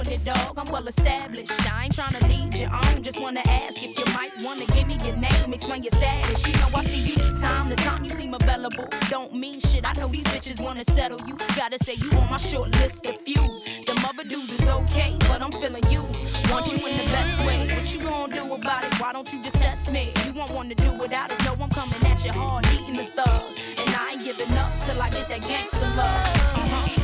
doing it, dog. I'm well established. I ain't tryna lead you on. Just wanna ask if you might wanna give me your name, explain your status. You know I see you time to time. You seem available. Don't mean shit. I know these bitches wanna settle you. Gotta say you on my short list of few. Them other dudes is okay, but I'm feeling you. Want you in the best way. What you gonna do about it? Why don't you just test me? You won't want to do without it. No, I'm coming at you hard, eating the thug. And I ain't giving up till I get that gangster love.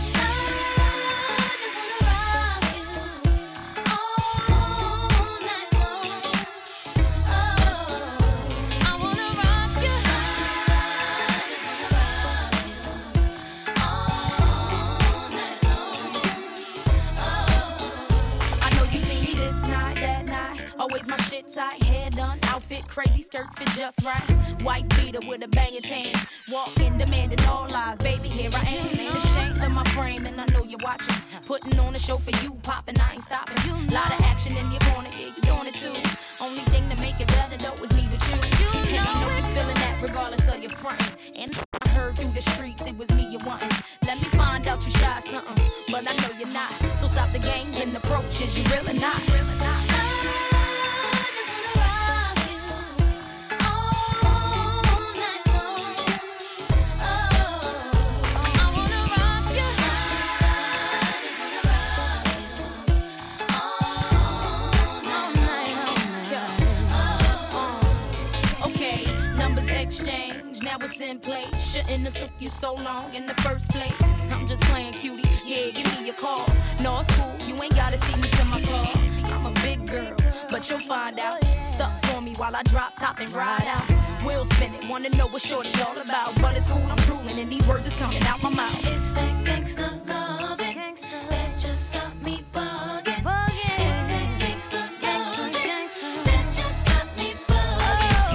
Always my shit tight, hair done, outfit crazy, skirts fit just right. White beater with a banging tan, walking, demanding all lies. Baby, here I am, ain't ashamed of my frame, and I know you're watching. Putting on a show for you, popping, I ain't stopping. Lot of action in your corner, yeah, you doing it too. Only thing to make it better though is me with you. And I know you're feeling that regardless of your front. And I heard through the streets it was me you wanting. Let me find out you shy something, but I know you're not. So stop the games and approaches, you really not. Now it's in place. Shouldn't have took you so long in the first place. I'm just playing cutie. Yeah, give me a call. No, it's cool. You ain't gotta see me to my car. I'm a big girl, but you'll find out. Stuck for me while I drop top and ride out. We'll spin it. Wanna know what shorty all about? But it's cool. I'm drooling and these words is coming out my mouth. It's that gangsta loving that just got me bugging. It's that gangsta loving that just got me bugging.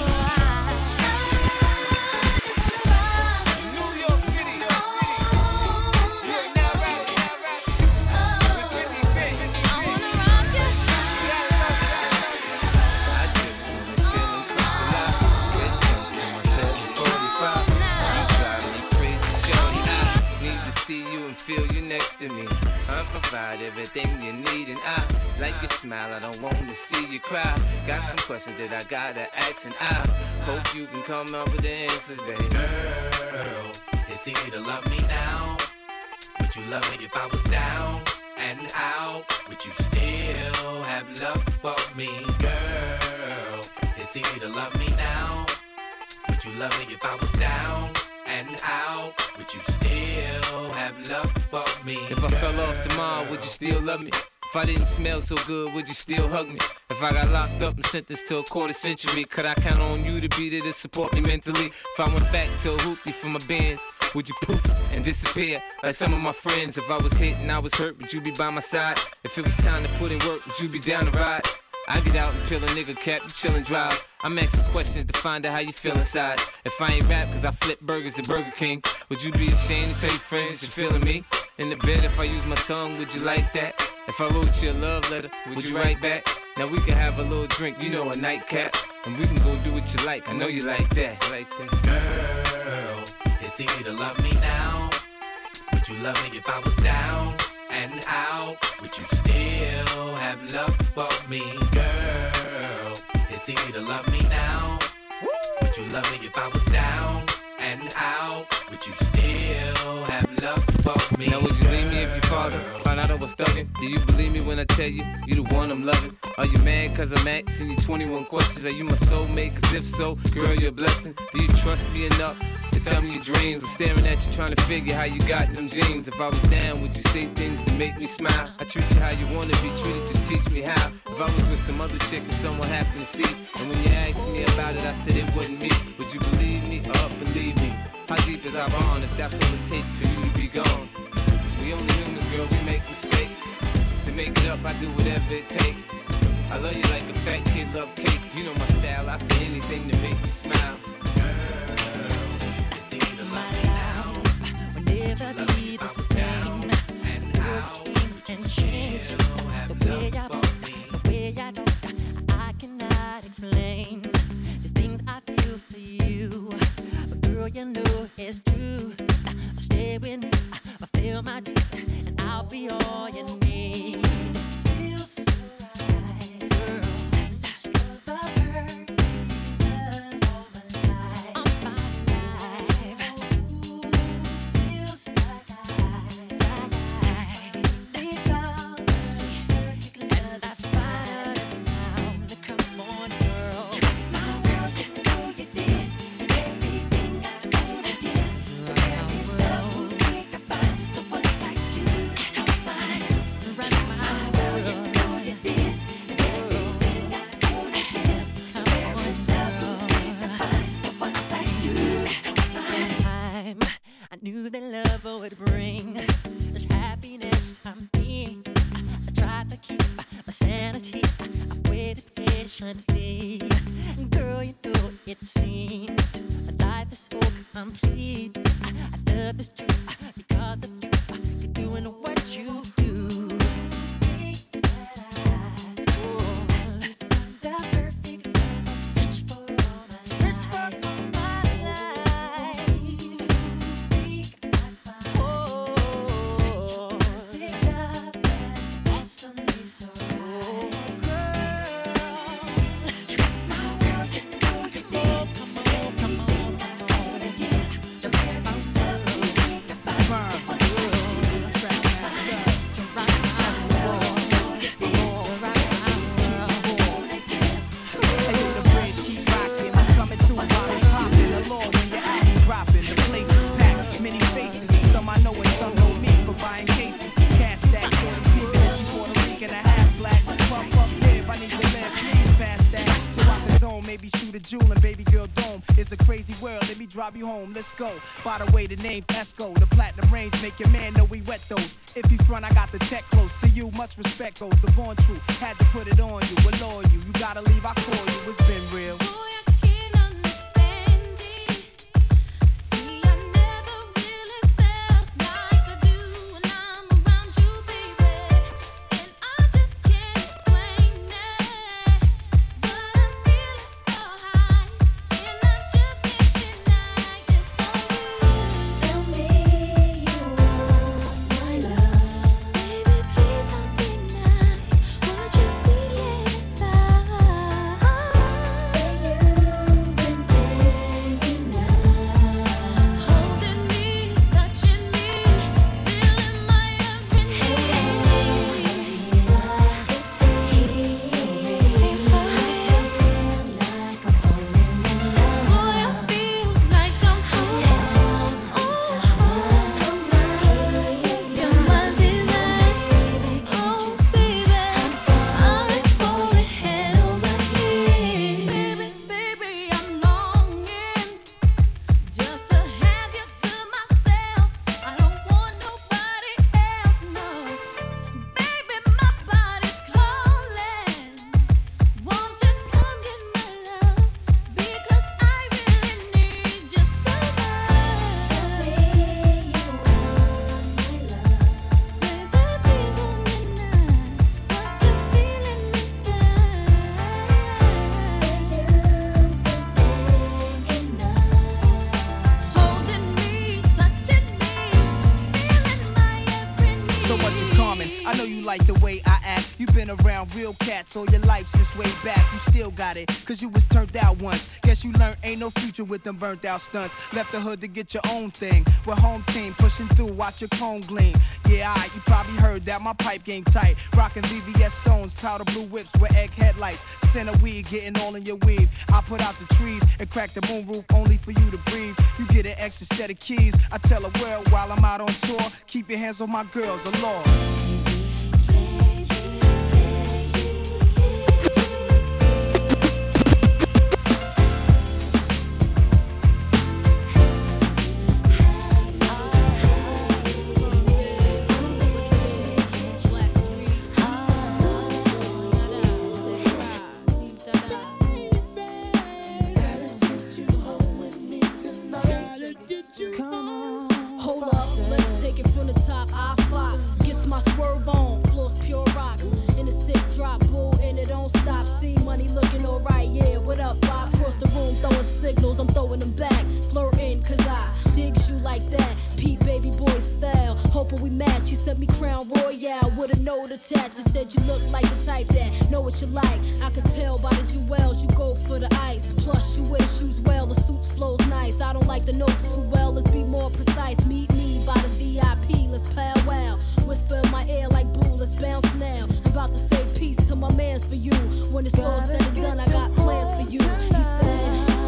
Feel you next to me. I provide everything you need, and I like your smile. I don't want to see you cry. Got some questions that I gotta ask, and I hope you can come up with the answers, baby. Girl, it's easy to love me now. Would you love me if I was down and out? Would you still have love for me, girl? It's easy to love me now. Would you love me if I was down and out? Would you still have love for me? If I fell off tomorrow, would you still love me? If I didn't smell so good, would you still hug me? If I got locked up and sentenced to a quarter century, could I count on you to be there to support me mentally? If I went back to a hoopty for my bands, would you poof and disappear like some of my friends? If I was hit and I was hurt, would you be by my side? If it was time to put in work, would you be down to ride? I get out and peel a nigga cap, you chillin' drive. I'm asking questions to find out how you feel inside. If I ain't rap cause I flip burgers at Burger King, would you be ashamed to tell your friends that you're feeling me? In the bed if I use my tongue, would you like that? If I wrote you a love letter, would you write back? Now we can have a little drink, you know, a nightcap, and we can go do what you like, I know you like that. Girl, it's easy to love me now. Would you love me if I was down and out? Would you still have love for me, girl? It's easy to love me now. Would you love me if I was down and out? Would you still have love for me? Now would you leave me if your father found out I was thugging? Do you believe me when I tell you, you the one I'm loving? Are you mad cause I'm asking you 21 questions? Are you my soulmate? Cause if so, girl, you're a blessing. Do you trust me enough to tell me your dreams? I'm staring at you trying to figure how you got them jeans. If I was down, would you say things to make me smile? I treat you how you wanna be treated, just teach me how. If I was with some other chick and someone happened to see, and when you asked me about it, I said it wasn't me, would you believe me or believe me? How deep is our bond if that's all it takes for you to be gone? We only humans, girl, we make mistakes. To make it up, I do whatever it takes. I love you like a fat kid love cake. You know my style, I say anything to make you smile. It's easy to love me now. Will never be the same. And change the way I don't, I cannot explain the things I feel for you. But girl, you know it's true. Stay with me, I feel my dreams, and I I'll be all you need. Feels so right, girl. That's the perfect love of my life. Of my life. Ooh, feels like I found the perfect love. That's what I found. Come on, girl. My world, you know you did everything I could have did. There is no way to find the one like you. Come find right my world, you know you did everything I could have did. There is no way to find the one like you. Come find. Time I knew that love would bring this happiness I'm feeling. I tried to keep my sanity. I waited patiently. Girl, you know it seems my life is so complete. I love this truth because of you. You're doing what you do. The perfect love I search for all my life. Search for all my life. Oh, perfect love that's awesomely so right. Girl, my world, you know you did. Come on, come on, come on. The perfect love we need to find. Maybe shoot a jewel and baby girl dome. It's a crazy world, let me drive you home, let's go. By the way, the name's Esco. The platinum range make your man know we wet those. If he front, I got the tech close. To you, much respect goes. The born true, had to put it on you. Allure you, you gotta leave, I call you. It's been real. Boy, I can't understand it. See, I never really felt like I do when I'm around you, baby. And I just can't explain it. But I'm feeling so high, and I just can't deny it's so good. Tell me you want my love, baby. Please don't deny what you feel inside. Say you've been thinking now, holding me, touching me, feeling my every need. It seems so real, like I'm falling in love. Boy, I feel like I'm falling. You're my desire. Oh, baby, I'm falling head over heels. Baby, I'm longing just to have you to myself. I don't want nobody else, no. Baby, my body's calling. Won't you come get my love? Because I really need you so much. Tell me you want my love, baby. Please don't deny what you're feeling inside. Say you've been thinking now, holding me, touching me, feeling my every need. So much in common. I know you like the way I act. You've been around real cats all your life since way back. You still got it, cause you was turned out once. Guess you learned ain't no future with them burnt out stunts. Left the hood to get your own thing. We're home team, pushing through, watch your cone gleam. Yeah, alright, you probably heard that my pipe game tight. Rockin' VVS stones, powder blue whips with egg headlights. Center weed, getting all in your weave. I put out the trees and crack the moonroof only for you to breathe. You get an extra set of keys. I tell the world while I'm out on tour, keep your hands on my girls, the law. Hold up, let's take it from the top. I Fox gets my swerve on, floors pure rocks. In the 6 drop, bull, and it don't stop. See money looking alright, yeah. What up? I cross the room, throwing signals, I'm throwing them back. Flirting, cause I digs you like that. Pete baby boy style. Hoping we match. You sent me Crown Royale with a note attached. You said you look like the type that know what you like. I could tell by the jewels you go for the ice. Plus you wear shoes well, the suit flows nice. I don't like the notes too well, let's be more precise. Meet me by the VIP, let's powwow. Whisper in my ear like boo, let's bounce now. I'm about to say peace to my mans for you. When it's all said and done, I got plans for you. He said,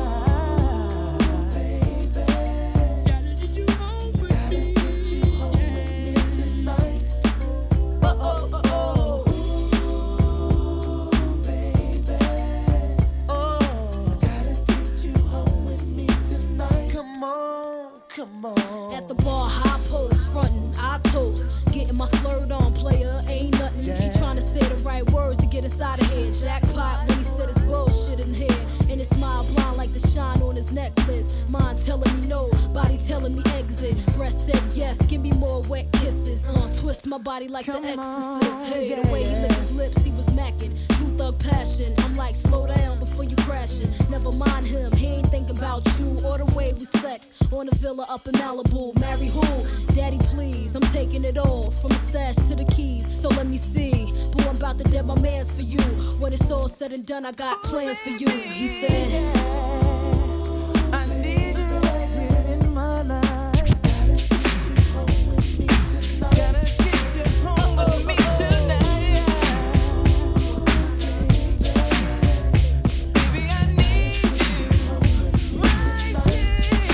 at the bar, high post, frontin', I toast. Getting my flirt on, player, ain't nothing. He tryna say the right words to get inside of here. Jackpot when he said his bullshit in here. And his smile blind like the shine on his necklace. Mind telling me no, body telling me exit. Breast said yes, give me more wet kisses. Twist my body like the exorcist. Hey, the way he licked his lips, he was macking. True thug passion, I'm like, slow down before you crashing. Never mind him, he ain't thinking about you or the way we sex. On a villa up in Malibu, marry who? Daddy please, I'm taking it all, from the stash to the keys. So let me see, boy I'm about to dead my mans for you. When it's all said and done, I got plans for you. He said, I need you right here in my life. Gotta get you home with me tonight. Baby, I need you right here.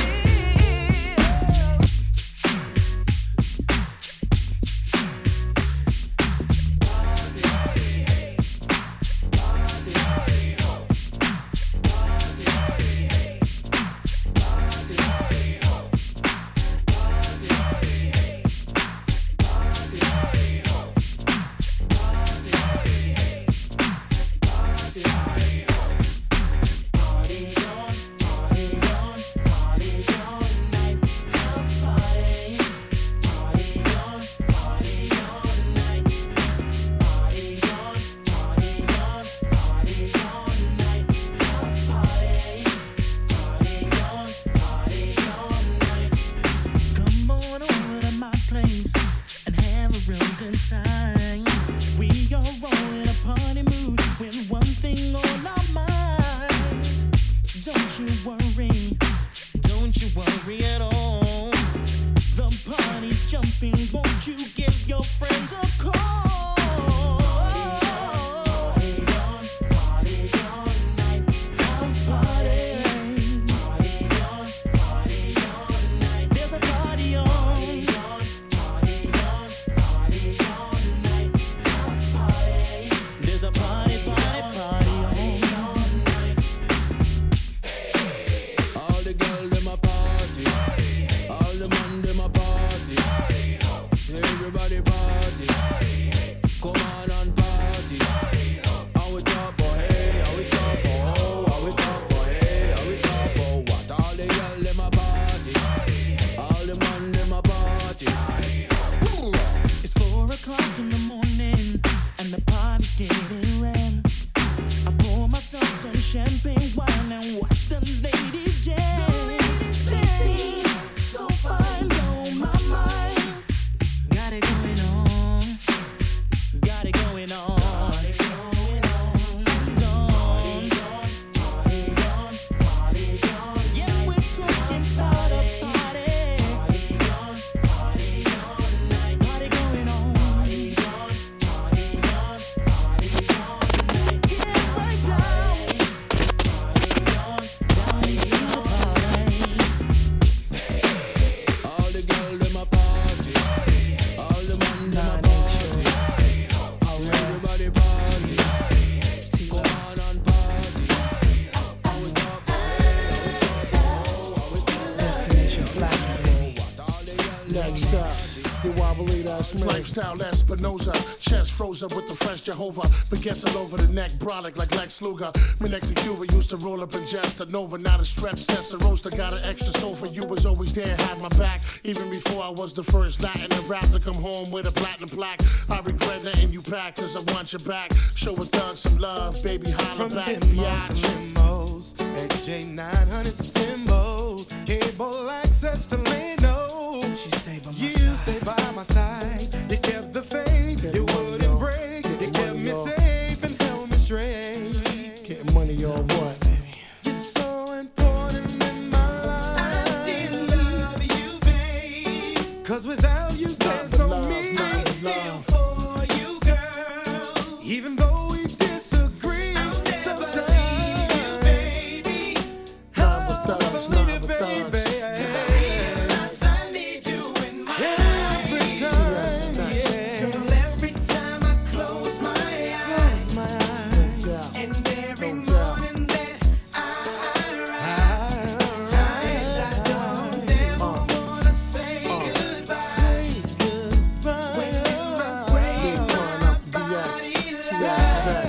Lifestyle Espinoza, chest frozen with the fresh Jehovah. Baguettes all over the neck, brolic like Lex Luger. Me next to Cuba used to roll up in just a Nova, not a stretch, just a roaster. Got an extra sofa, you was always there, had my back. Even before I was the first Latin to rap to come home with a platinum plaque. I regret letting you back, cause I want you back. Show a thug some love, baby, holla From back, Demos biatch. to Limos, XJ900 to Timbo, cable access to Leno. She stay by my You side. stay by my my side. You kept the faith, you wouldn't break. You kept me safe and held me straight. Getting money on what? You're so important in my life. I still love you, babe. 'Cause without you, there's no me. I'm still for you, girl. Even though we disagree, I'll never leave you, baby. I'll never leave you, baby. 'Cause I realize I need you in my life. Every time, yeah. Girl, every time I close my eyes, and every morning that I rise, I don't ever wanna say goodbye. When in my grave, my body lies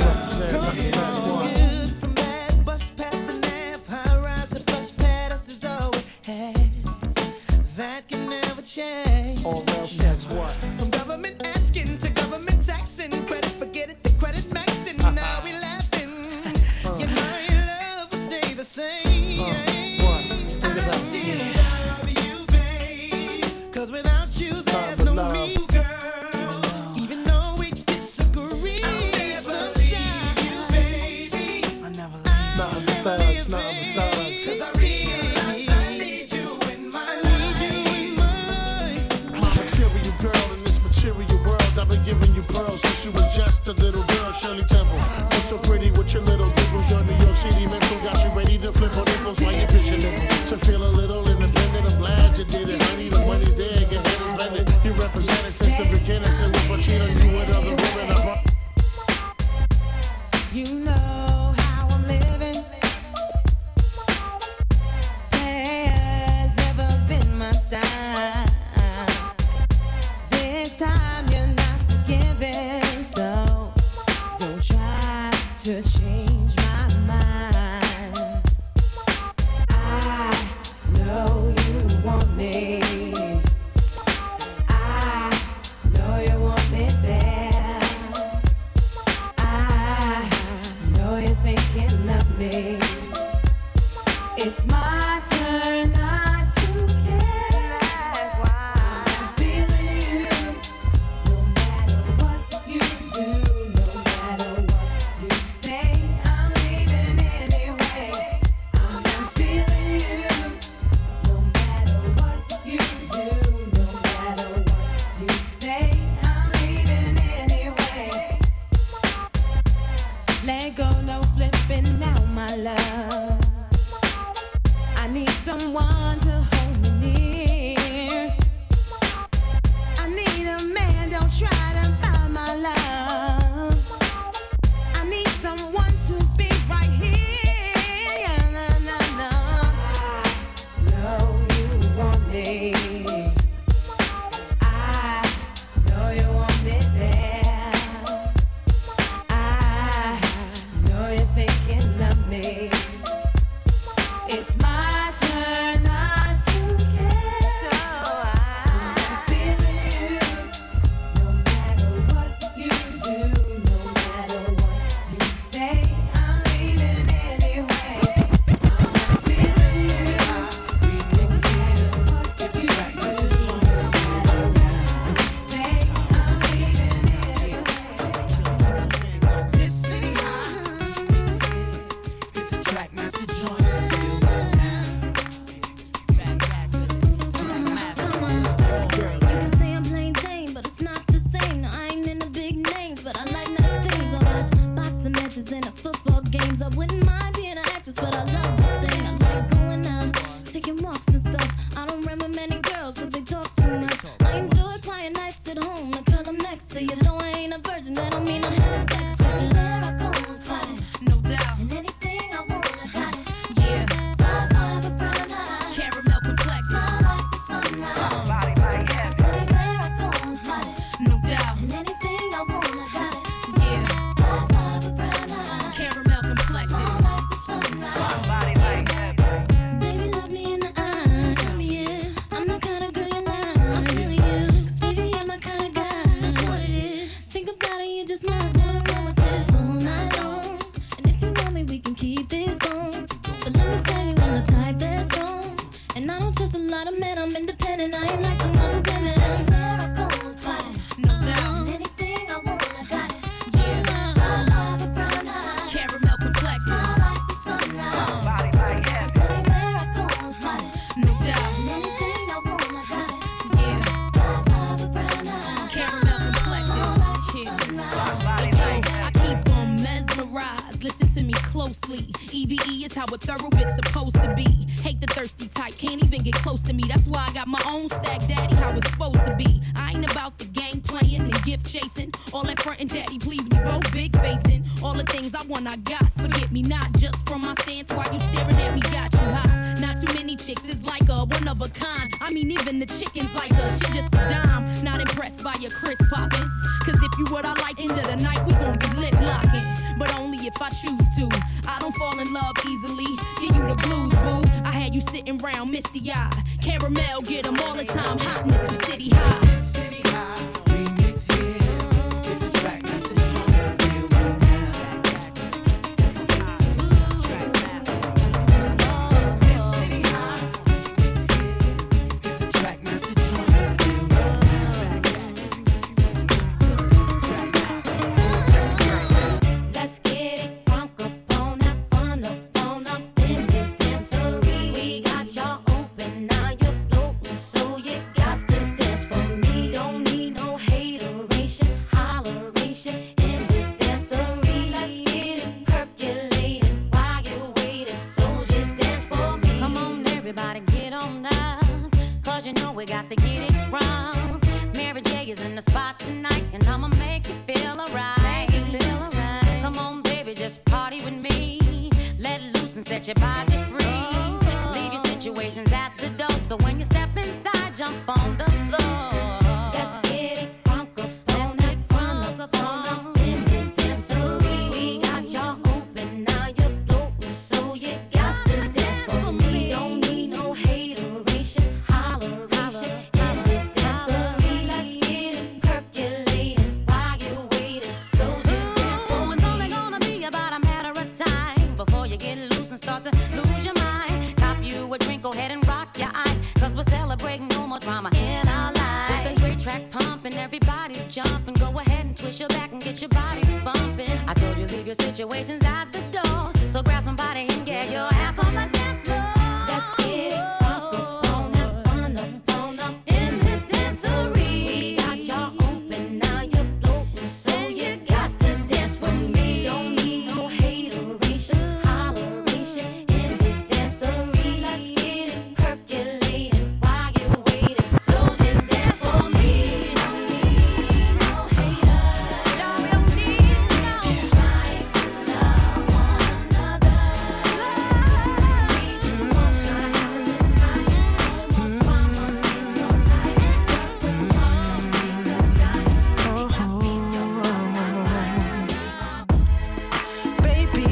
good from bad, bus past the nav, high rise to plush pad, us is all we had. That can never change. Or else that's what? From government asking to government taxing, credit forget it, the credit maxing. Now we laughing. Yet my love will stay the same. What? Think I about still love you, babe. 'Cause without you, there's no love. me, girl. Even though we disagree, I'll never leave you, baby. I'll never Nothing but thugs, nothing but thugs. 'Cause I realize I need you in my life. My material girl in this material world, I've been giving you pearls since you was just a little girl, Shirley Temple. You're so pretty with your little dimples. Your New York City mental got you ready to flip on nipples while you pitch your nipples. To feel a little independent, I'm glad you did it, honey. The money's there, get better spend it. You represented since the beginning, so if I cheat on you with other women, You know how I'm living. Has never been my style. This time you're not forgiving, so don't try to change my mind. I know you want me. I know you want me there. I know you're thinking of me. It's my turn not to care. That's why I'm feeling you. No matter what you do, no matter what you say, I'm leaving anyway. I'm not feeling you. No matter what you do, no matter what you say, I'm leaving anyway. Let go, no flipping now, my love. I need someone to hold me near. I need a man, don't try to buy my love. I need someone to be right here. Yeah, no, no, no. I know you want me. I know you want me there. I know you're thinking of me. It's my turn not to care. So I'm feeling you. No matter what you do, no matter what you say, I'm leaving anyway. I'm feeling you. If you say, I'm leaving anyway. This city it's a track master joint. You can say I'm plain Jane, but it's not the same. No, I ain't in the big names, but I like nice things. I watch boxing matches and the football games. I wouldn't mind being an actress, but I love to sing. I like going out, taking walks and stuff. I don't run with many girls 'cause they talk too much. I enjoy quiet nights at home, the girl I'm next to. You know I ain't a virgin, that don't mean I had sex with you. There I go, I'm spotted. No doubt. And anything I want, I got it. Yeah. Vibe, vibe, a brown eye. Caramel complexion. Smile like the sunlight. Anywhere I go, I'm spotted. No doubt. And anything I want, I got it. Yeah. Vibe, vibe, a brown eye. Caramel complexion. Smile like the sunlight. Baby, look me in the eye. Tell me, yeah, I'm the kind of girl you like. I'm feeling you. 'Cause baby, you're my kind of guy. That's what it is. Think about it, you just might wanna run with this all night long. And if you want me, we can keep this going. But let me tell you, I'm the type that's strong. And I don't trust a lot of men, I'm independent. I ain't like some other women. Anywhere I how a thorough bit's supposed to be. Hate the thirsty type, can't even get close to me. That's why I got my own stack, daddy, how it's supposed to be. I ain't about the game playing and gift chasing. All that front and daddy, please, we both big facing. All the things I want, I got. Forget me not, just from my stance while you staring at me, got you high. Not too many chicks, it's like a one of a kind. I mean, even the chickens like her, she just a dime. Not impressed by your crisp popping. Cause if you what I like, end of the night, we gon' be lip locking. But only if I choose to. I don't fall in love easily. Give you the blues, boo. I had you sitting round misty eyed. Caramel, get them all the time. Hotness from City High. City High, remix here. It's a track that's the joint. Feel right now. It's City High, remix here. It's a track that's the joint. Feel right now. Let's get it crunk up on that fun up in this dancery. We got y'all open, now you're floating, so you got to dance for me. Don't need no hateration, holleration in this dancery. Let's get it percolated while you're waiting, so just dance for me. Come on, everybody, get on up, cause you know we got to get it wrong. Mary J is in the spot tonight, and I'ma make you feel alright. Come on, baby, just party with me. Let loose and set your body free. Leave your situations at the door, so when you step inside, jump on the floor. Let's get it crunk up on that front up in this dancery. We got y'all open, now you're floating, so you got to dance for me. Don't need no hateration, holleration in this dancery. Let's get it percolated while you're waiting, so just dance for me. It's only gonna be about a matter of time before you get loose and start to lose your mind. Cop you a drink, go ahead and rock your eyes, cause we're celebrating no more drama in our lives. With a great track pumping, everybody's jumping. Go ahead and twist your back and get your body bumping. I told you leave your situations at the door, so grab somebody and get your ass on the dance floor. Let's get it crunk up on that fun up in this dancery. We got y'all open, now you're floating, so you got to dance with me. Don't need no hateration, holleration in this dancery. Let's get it percolated while you're waiting, so just dance for me. Don't need no haters, we don't need no trying to love one another. We just want to have a good time, no more drama in your life. No more in the night. Baby,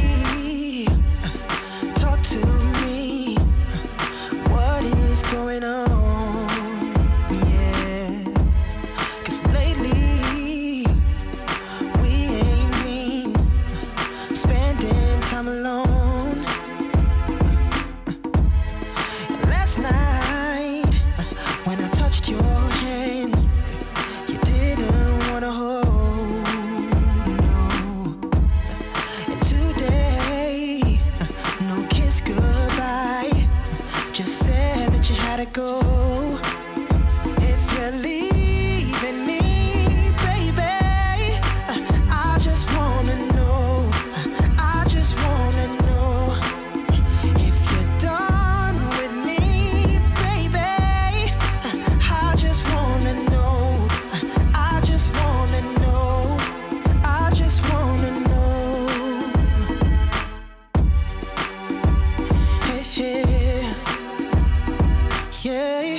talk to me. What is going on? Yeah, 'cause lately we ain't been spending time alone. Last night when I touched your hand, you didn't wanna hold, no. And today, no kiss goodbye, just said that you had to go. If you're leaving me, baby, I just wanna know, I just wanna know. If you're done with me, baby, I just wanna know, I just wanna know, I just wanna know. Hey, hey, yeah.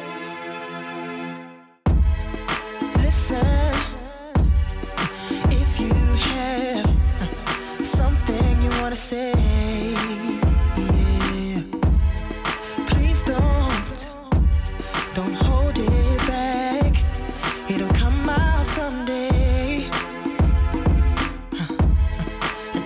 Listen, if you have something you wanna say, yeah, please don't hold it back. It'll come out someday. And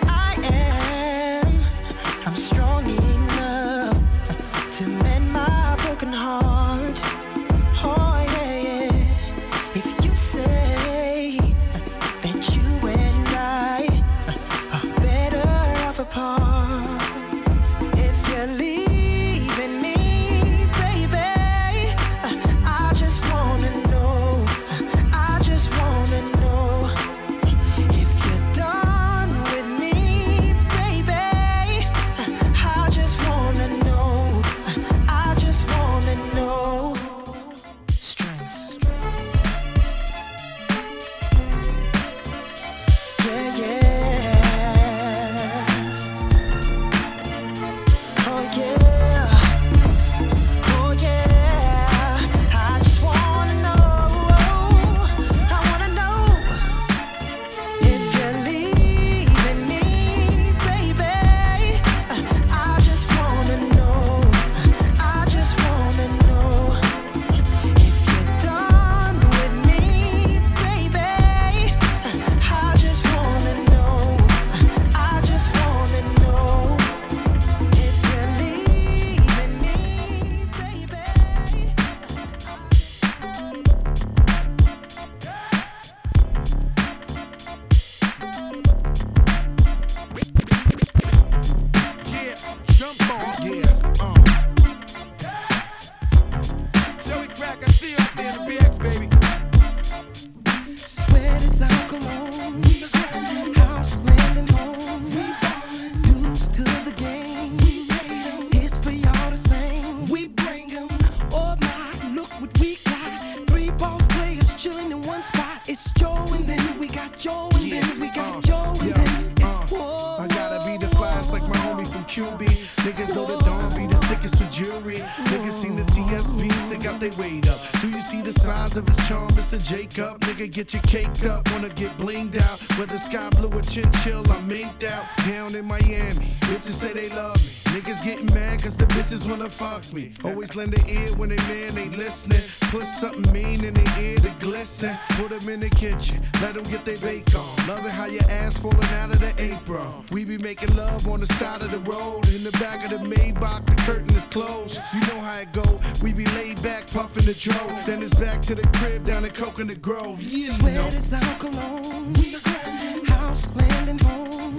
I'm strong enough to mend my broken heart. Oh yeah, yeah. If you say that you and I are better off apart, if you're leaving me, baby, I just wanna know, I just wanna know. If you're done with me, baby, I cologne. House, land, and home. Dues to the game. It's for y'all to sing. We bring 'em. Oh my, look what we got. 3 boss players chilling in one spot. It's Joe and then we got Joe and then we got Joe and then it's whoa. I gotta be the flyest like my homie from QB. Niggas know the dawn be the sickest with jewelry. Niggas seen the TSB, sick out they weight up. Do you see the signs of his charm, Mr. Jacob? Nigga, get your caked up, wanna get blinged out. Whether sky blue or chinchill, I'm minked out. Down in Miami, bitches say they love me. Niggas getting mad cause the bitches wanna fuck me. Always lend an ear when they man ain't listening. Put something mean in their ear to glisten. Put them in the kitchen, let them get their bake on. Love it how your ass falling out of the apron. We be making love on the side of the road. In the back of the Maybach, the curtain is closed. You know how it go, we be laid back, puffing the dro. Then it's back to the crib down in Coconut Grove. You know. Sweat is our cologne. House, land, and home.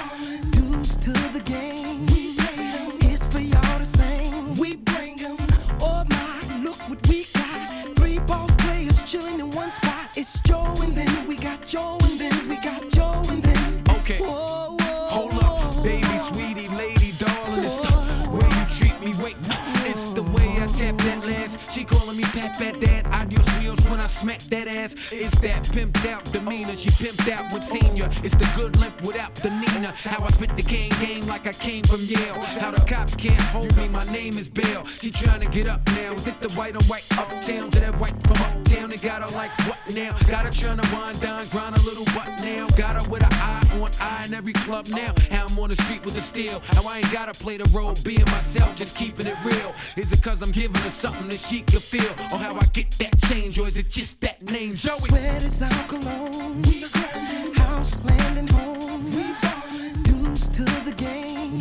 Dues to the game. It's for y'all to sing. We bring 'em. Oh my, look what we got. 3 boss players chilling in one spot. It's Joe and then we got Joe and then we got Joe and then it's Okay. whoa, whoa, Hold up, baby, sweetie, lady, darling. It's the way you treat me. Wait, it's the way I tap that last. She calling me Pat Dad. Adios Rios when I smack that ass. It's that pimped out demeanor. She pimped out with senior. It's the good limp without the Nina. How I spit the cane game like I came from Yale. How the cops can't hold me. My name is Bill. She trying to get up now. Is it the white on white uptown to that white from uptown? They got her like what now? Got her trying to wind down, grind a little butt now. Got her with an eye on eye in every club now. How I'm on the street with the steel. How I ain't gotta play the role being myself, just keeping it real. Is it cause I'm giving her something that she can feel? Or how I get that change? Or is it just that name, Joey? Sweat is our cologne. House, land, and home. Dues to the game.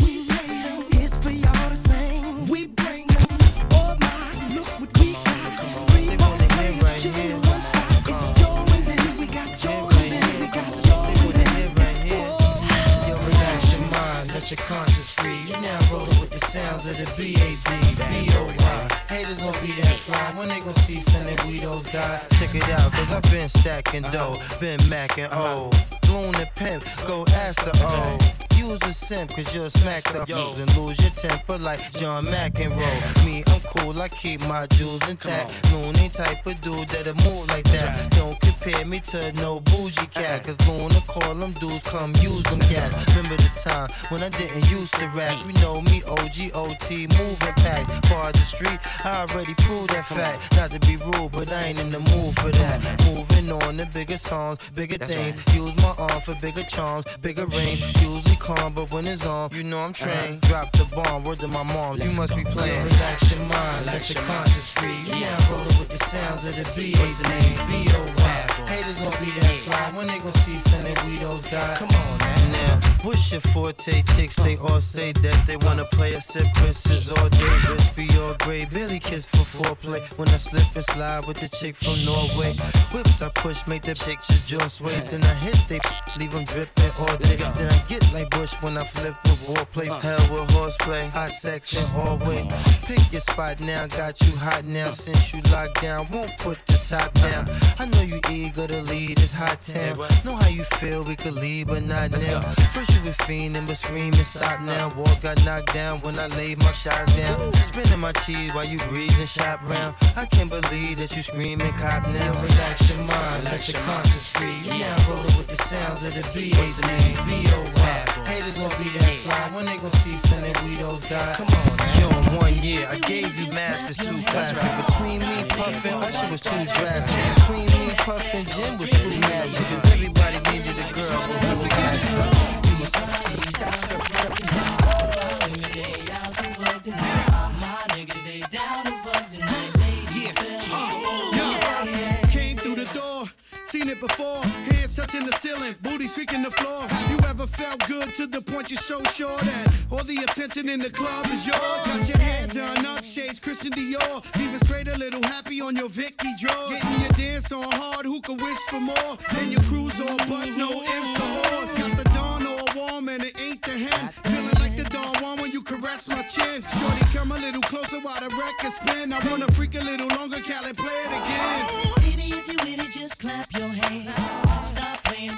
It's for y'all to sing. We bring 'em. Oh my, look what we got. 3 boss players chilling in one spot. It's Joe and then we got Joe and then we got Joe and then it's whoa. Yo, relax your mind, let your conscience free. You're now rolling with the sounds of the B.A.D. B.O.Y. Haters gon' be that fly when they gon' see Sonny Guido's die. Check it out, cause I've been stacking dough, been macking O. Blown and pimp, go ask the O. Use a simp, cause you'll smack the hoes and lose your temper like John McEnroe. Me, I'm cool, I keep my jewels intact. Looney type of dude that'll move like that. Don't compare me to no bougie cat, cause Luna call them dudes, come use them cats. Remember the time when I didn't used to rap? You know me, OG-OT, moving packs. Far the street, I already proved that fact. Not to be rude, but I ain't in the mood for that. Moving on to bigger songs, bigger things. Use my arm for bigger charms, bigger range. Usually calm, but when it's on, you know I'm trained. Drop the bomb, word to my mom, you must be playing. Relax your mind, let your conscience free. You now rolling with the sounds of the B.A.D. B.O.Y. Haters gon' be that fly when they gon' see Sonny Guido's die. Come on, man. Now, what's your forte ticks? They all say that they wanna play a sip Chris's all day. Wrist be all gray, Billy kiss for foreplay. When I slip and slide with the chick from Norway. Whips I push, make the chicks just jaw sway. Then I hit they leave them dripping all day. Then I get like Bush when I flip with warplay. Hell with horseplay, hot sex and always. Pick your spot now, got you hot now. Since you locked down, won't put the top down. I know you eager to lead this hot town. Know how you feel, we could leave, but not now. First you was fiending, but screaming, stop now. Walls got knocked down when I laid my shots down. Spinning my cheese while you breathe and shop round. I can't believe that you screaming cop now. Relax your mind, let your conscience free. You now rolling with the sounds of the B.A.D. B.O.Y. Haters gon' be that fly when they gon' see Sonny Guido's die. Come on, man. Yo, in 1 year, I gave you masters too classic. Between me, Puffin', Usher was too drastic. Between me, Puffin', Jim was true magic. Cause everybody needed a girl, but who was Came through the door, seen it before. Hands touching the ceiling, booty streaking the floor. Have you ever felt good to the point you're so sure that all the attention in the club is yours? Got your hair done up, shades Christian Dior. Even straight a little happy on your Vicky drawers. Getting your dance on hard, who could wish for more? And your cruise all but no ifs or ors. Got the dawn all warm and it ain't the hen. Feeling like the dawn one when you caress my chin. Shorty, come a little closer while the record spin. I wanna freak a little longer, Cali, play it again. Baby, if you with it, just clap your hands. Stop playing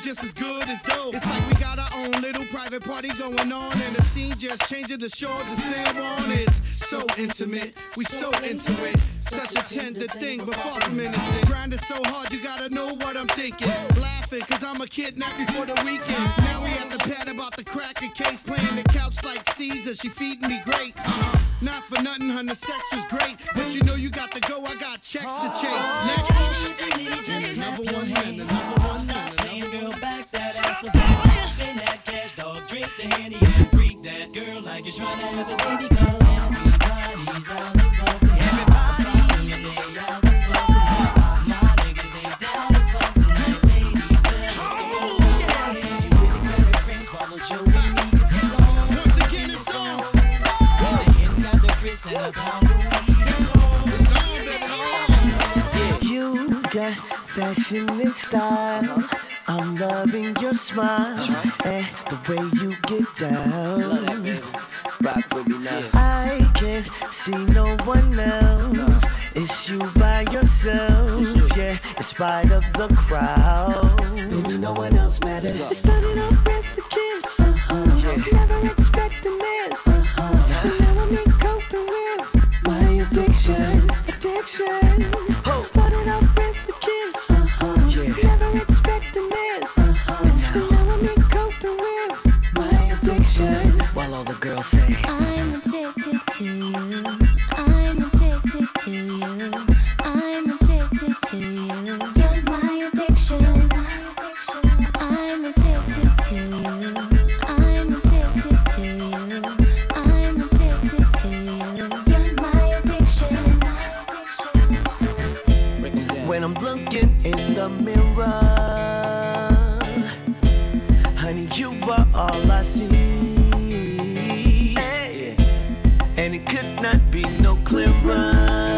just as good as dope. It's like we got our own little private party going on, and the scene just changing the shores of San Juan. It's so intimate, we so into it. Such a tender thing, but far from innocent. Grinding so hard, you gotta know what I'm thinking. Laughing, cause I'm a kidnap before the weekend. Now we at the pad about the crack a case, playing the couch like Caesar. She feeding me grapes. Not for nothing, honey, sex was great. But you know you got to go, I got checks to chase. Next. Number one man, the number one man. Playing girl, back that ass up. Spend that cash, dog, drink the Henny and freak that girl like you're trying to have a baby girl. And everybody's out the fuck tonight. Everybody in there out the fuck tonight. My niggas, they down the fuck tonight. Ladies, fellas, girls, yeah. You with the girl friends, follow Joe and me, cause it's on. Once again, it's on. The hen got the Chris and the pound of weed. It's on, it's on. You've got fashion and style. I'm loving your smile and the way you get down. Rock with me now. I can't see no one else. It's you by yourself, yeah, in spite of the crowd. Baby, no one else matters. Started off with the kiss, never expecting this. And now I'm in coping with my addiction. Started off with the kiss, never expecting this. And now I'm in coping with my addiction. While all the girls say, I'm addicted to you. I'm addicted to you. I'm addicted to you. You're my addiction. I'm addicted to you. I'm addicted to you. I'm addicted to you. You're my addiction. when I'm looking in the mirror, honey, you are all I see. And it could not be no clearer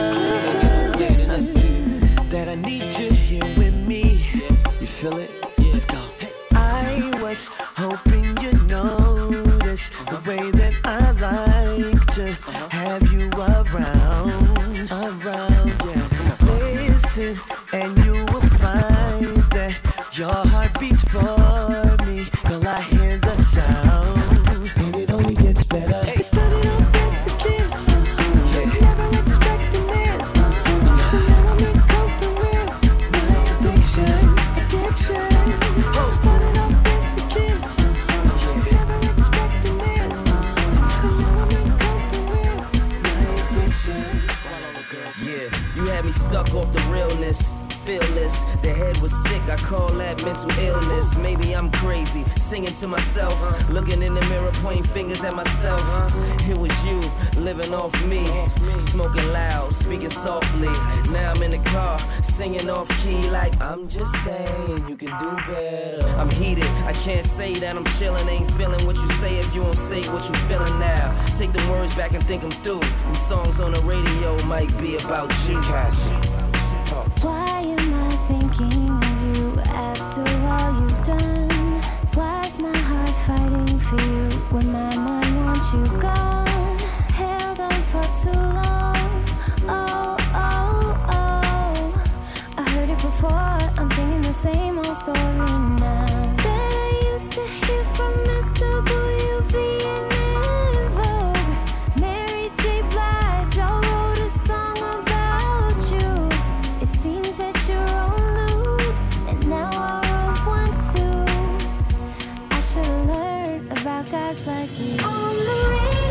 that I need you here with me. You feel it? Let's go. I was hoping you notice the way that I like to have you around, yeah. Listen, and you will find that your heart beats for me. Till I hear the sound, and it only gets better. It started off with the kiss, never expecting this. And now I'm in coping with my addiction. Started off with the kiss, never expecting this. And now I'm in coping with my addiction. Yeah, you had me stuck off the realness. Fearless, the head was sick, I call that mental illness. Maybe I'm crazy, singing to myself, looking in the mirror, pointing fingers at myself. It was you, living off me, smoking loud, speaking softly. Now I'm in the car, singing off key like I'm just saying you can do better. I'm heated, I can't say that I'm chilling, ain't feeling what you say if you don't say what you feeling now. Take the words back and think them through. Them songs on the radio might be about you. Cassie. Why am I thinking of you after all you've done? Why's my heart fighting for you when my mind wants you gone? Held on for too long. Oh, oh, oh. I heard it before, I'm singing the same old story now. That I used to hear from Mr. Bouillon and Vogue. Mary J. Blige, I wrote a song about you. It seems that you're on loose, and now I wrote one too. I should've learned about guys like you. On the radio,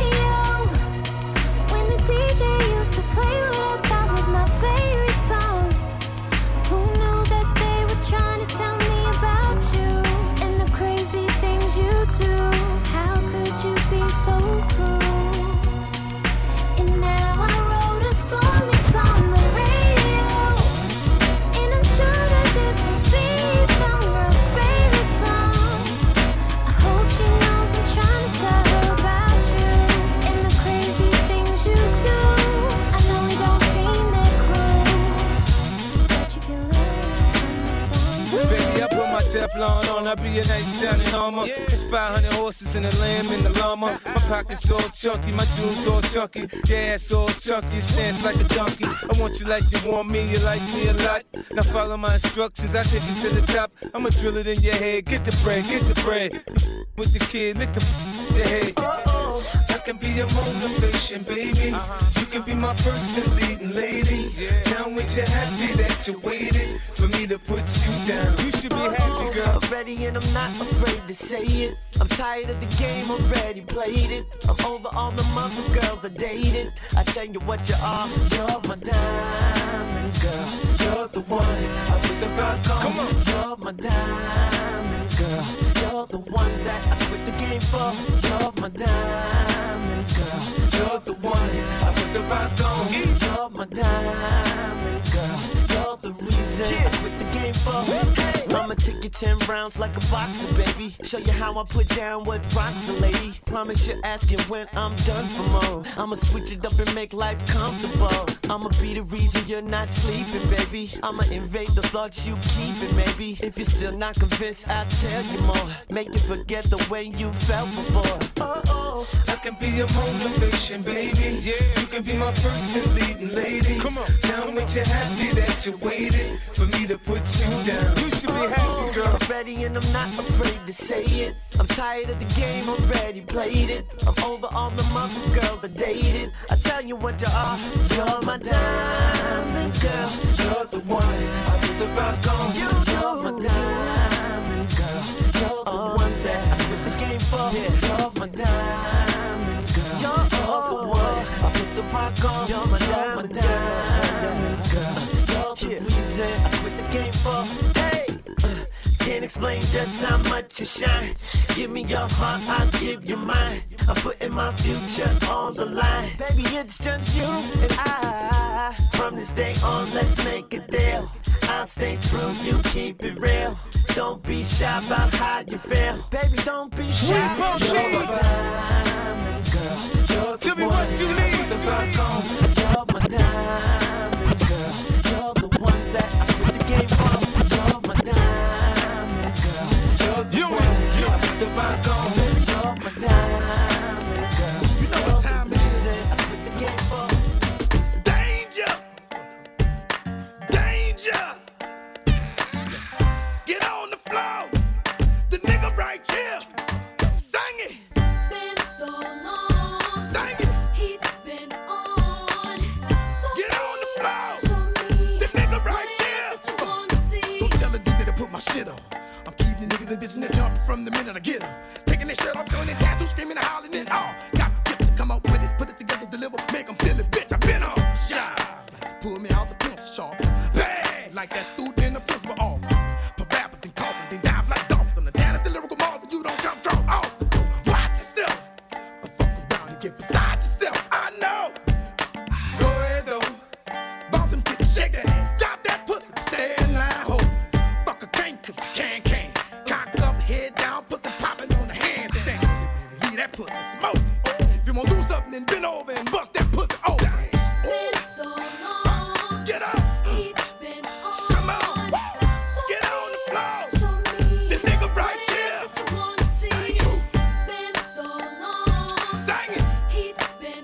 on, I'll be your knight shining armor. It's 500 horses and a lamb in the llama. My pockets all chunky, my jewels all chunky. Your ass all chunky, you stance like a donkey. I want you like you want me, you like me a lot. Now follow my instructions, I take you to the top. I'ma drill it in your head, get the bread, get the bread. With the kid, lick the head. I can be your motivation, baby. You can be my first and leading lady. Now when you're happy that you waited for me to put you down. You should be happy, girl. I'm ready and I'm not afraid to say it. I'm tired of the game, already played it. I'm over all the mother girls I dated. I tell you what you are, you're my diamond girl. You're the one I put the rock on. Come on. You're my diamond girl. You're the one that I quit the game for. You're my diamond girl. You're the one I put the rock on. You're my diamond girl. You're the reason I quit the game for. Hey. I'ma take you 10 rounds like a boxer, baby. Show you how I put down what rocks a lady. Promise you're asking when I'm done for more. I'ma switch it up and make life comfortable. I'ma be the reason you're not sleeping, baby. I'ma invade the thoughts you keeping, maybe. If you're still not convinced, I'll tell you more. Make you forget the way you felt before. I can be your motivation, baby. You can be my first and leading lady. Come on. Now when you're happy that you waited for me to put you down. You should be happy, girl. I'm ready and I'm not afraid to say it. I'm tired of the game, already played it. I'm over all the mother girls I dated. I tell you what you are, you're my diamond girl. You're the one I put the rock on. You're my diamond girl. You're the one that I quit the game for. You're my diamond girl. You're the one I put the rock on. You're my diamond girl. You're the reason I quit the game for. Hey, can't explain just how much you shine. Give me your heart, I'll give you mine. I'm putting my future on the line. Baby, it's just you and I. From this day on, let's make a deal. I'll stay true, you keep it real. Don't be shy about how you feel. Baby, don't be shy. You're my diamond girl. You're the one what you need. Put the rock on. You're my diamond girl. You're the one that I quit the game for. You're my diamond girl. You're the one I put the rock on. You're my diamond girl. You know what time it is. I quit the game for. Danger! Danger! Get on the floor. The nigga right here. Sing it. Been so long. Sing it. He's been on. So Get on the floor. show me The nigga right here. what you wanna see. Don't tell the DJ to put my shit on. I'm keeping the niggas and bitches in the jump from the minute I get them. Taking their shirt off, showing their tattoos, screaming and howling and all. Got the gift to come out with it, put it together, deliver, make them feel it, bitch. I been on. Shy. Pull me out the pencil sharp. Bad. Like that student in the principal office. Put rappers and coffins, they dive like dolphins. On the down at the lyrical marvel, you don't come strong office. So watch yourself. Don't fuck around and get beside yourself. I know. Go ahead though. Bump them titties, shake that ass. Drop that pussy, stay in line, ho. Fuck a can't, cause you can. Cock up, head down, pussy popping on the handstand. Leave that pussy smoke. If you wanna do something, then bend over and bust that pussy open. Been so long. Get up. He's been on. Come on. So Get on the floor. show me The nigga right here. what you wanna see. Been so long. Sing it. He's been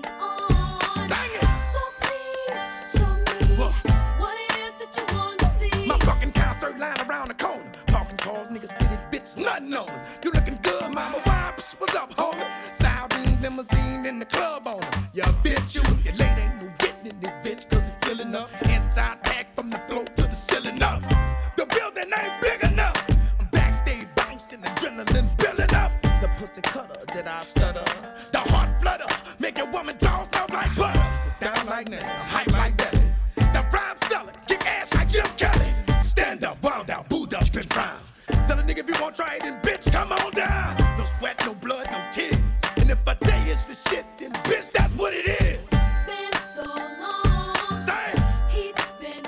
on. Sing it. So please show me What? what it is that you wanna see. My fucking concert line around the corner. Parking cars, niggas fitted, bitch, nothing on them. You looking good, mama. Why? What's up, homie? Siren limousine in the club on them. Yeah, bitch, you if your lady ain't no getting in this bitch, cause it's filling up. Inside pack from the floor to the ceiling up. The building ain't big enough. I'm backstage bouncing, adrenaline building up. The pussy cutter that I stutter. The heart flutter, make your woman jaws melt like butter. Down like Nelly, hype like belly. The rhyme seller, kick ass like Jim Kelly. Stand up, wild out, booed up, been frown. Tell a nigga if you gon' try it, then bitch, come on down. No sweat, no blood, no tears. And if I tell you it's the shit, then bitch, that's what it is. Been so long. Say, He's been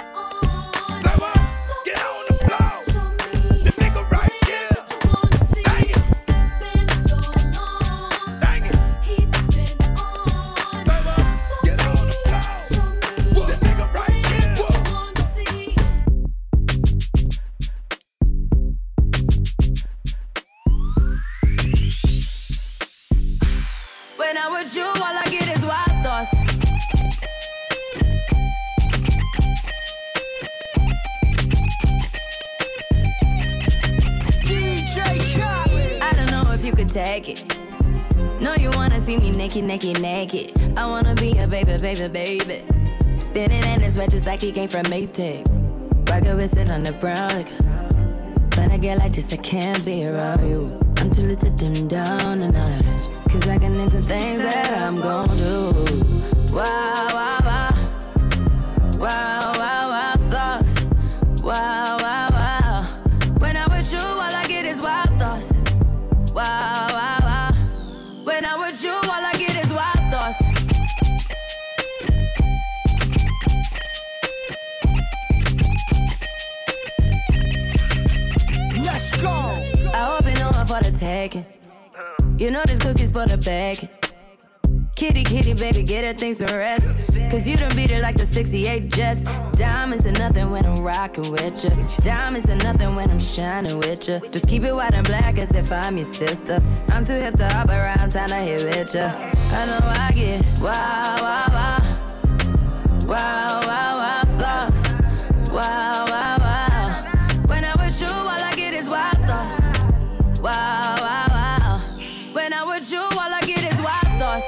on. say what? Get on the floor. The nigga right here. Sing it, Been so long. sing it. He's been on. Say what? Get on the floor. all I get is wild thoughts. I don't know if you could take it. No, you wanna see me naked, naked, naked. I wanna be a baby, baby, baby. Spinning in his red just like he came from Maytag. Rocket with it on the brown like. When I get like this, I can't be around you. I'm too little to dim down the notch. Cause I can into things that I'm gon' do. Wow, wow, wow. Wow, wow, wow, thoughts. Wow, wow, wow. When I'm with you, all I get is wild thoughts. Wow, wow, wow. When I'm with you, all I get is wild thoughts. Let's go. I hope you know I'm for the taking. You know this cookie's for the bag. Kitty, kitty, baby, get her things to rest. Cause you done beat it like the 68 Jets. Diamonds are nothing when I'm rockin' with ya. Diamonds are nothing when I'm shining with ya. Just keep it white and black as if I'm your sister. I'm too hip to hop around, time to hit with ya. I know I get wow, wow, wow. Wow, wow, wow, thoughts. Wow, wow, wow. When I'm with you, all I get is wild thoughts. Wow, wow, wow. When I'm with you, all I get is wild thoughts.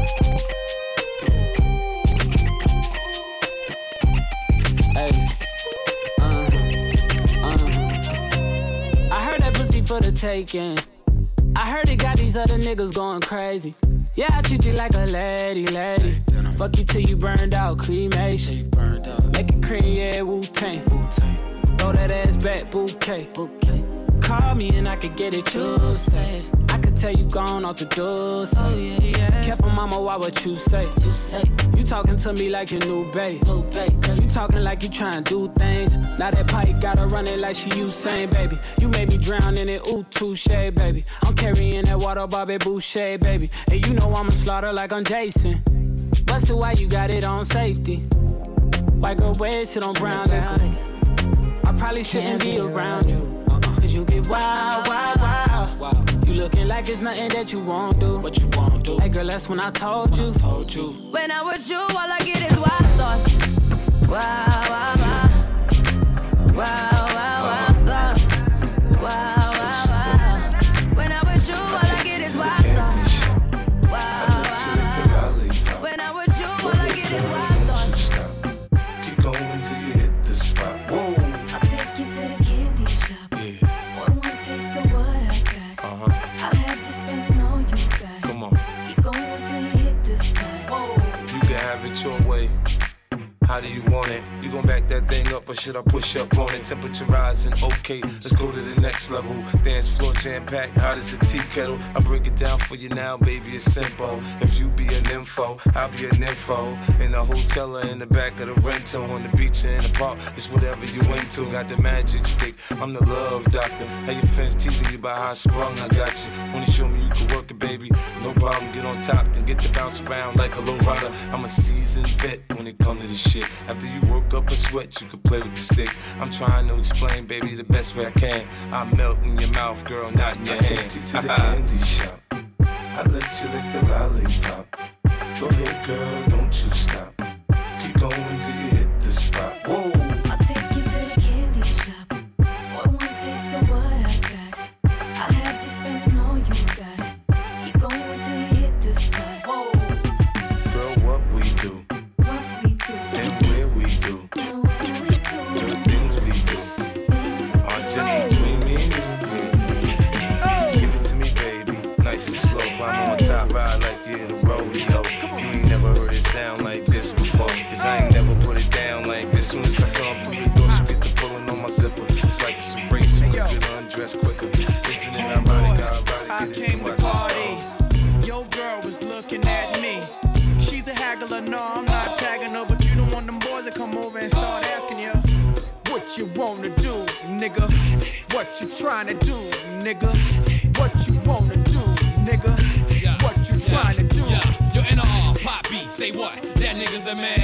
I heard that pussy for the taking. I heard it got these other niggas going crazy. Yeah, I treat you like a lady, lady. Fuck you till you burned out, cremation. Make it cream, yeah, Wu-Tang. Throw that ass back, bouquet. Call me and I could get it, you say. I could tell you gone off the door, say. Oh, yeah, yeah. Careful, mama, why what you say? You talking to me like your new babe. You talking like you trying to do things. Now that pipe gotta run it like she Usain, baby. You made me drown in it, ooh, touche, baby. I'm carrying that water, Bobby Boucher, baby. And you know I'ma slaughter like I'm Jason. Busted, why you got it on safety? White girl, wear shit on brown liquor. I probably shouldn't be around you. Cause you get wild, wild, wild. You looking like it's nothing that you won't do. What you won't do? Hey girl, that's when I told you. When I'm with you, all I get is wild thoughts. Wow, wow, wow. Wow, wow, wow, thoughts. Wow, wow, wow. When I'm with you, all I get is wild thoughts. Wow, wow, wow. When I'm with you, all I get is wild thoughts. Keep going till you hit the spot. Whoa. I'll take you to the candy shop. Yeah. One taste of what I got. I'll have you spending all you got. Come on. Keep going till you hit the spot. You can have it your way. How do you want it? You gon' back that thing up or should I push up on it? Temperature rising, okay, let's go to the next level. Dance floor jam-packed, hot as a tea kettle. I break it down for you now, baby, it's simple. If you be an info, I'll be an info. In the hotel or in the back of the rental, on the beach or in the park, it's whatever you into. Got the magic stick, I'm the love doctor. How your friends teasing you about how I sprung, I got you. Wanna show me you can work it, baby? No problem, get on top, then get to bounce around like a low rider. I'm a seasoned vet when it comes to this shit. After you work up a sweat, you can play with the stick. I'm trying to explain, baby, the best way I can. I melt in your mouth, girl, not in your hand. Take you to the candy shop. I let you lick the lollipop. Go ahead, girl, don't you stop. Keep going till you hit the spot. Whoa. I'll take you to the candy shop. One taste of what I got. I'll have you spending all you got. Keep going till you hit the spot. Whoa. Girl, what we do. And where we do. The things we do are just between me and you. Give it to me, baby. Nice and slow. Climb on my top ride like you're in a rodeo. You ain't never heard it sound like this before. Cause I ain't never put it down like this. Soon as I come through the door, she get the pulling on my zipper. It's like it's a race. You get undressed quicker. Isn't it ironic how I came to party. Your girl was looking at me. She's a haggler, no, I'm not tagging her, but you don't want them boys to come over and start asking you what you wanna do, nigga. What you trying to do, nigga. What you wanna do, nigga. What you trying to do. Yo, NR, pop beat, say what? That nigga's the man.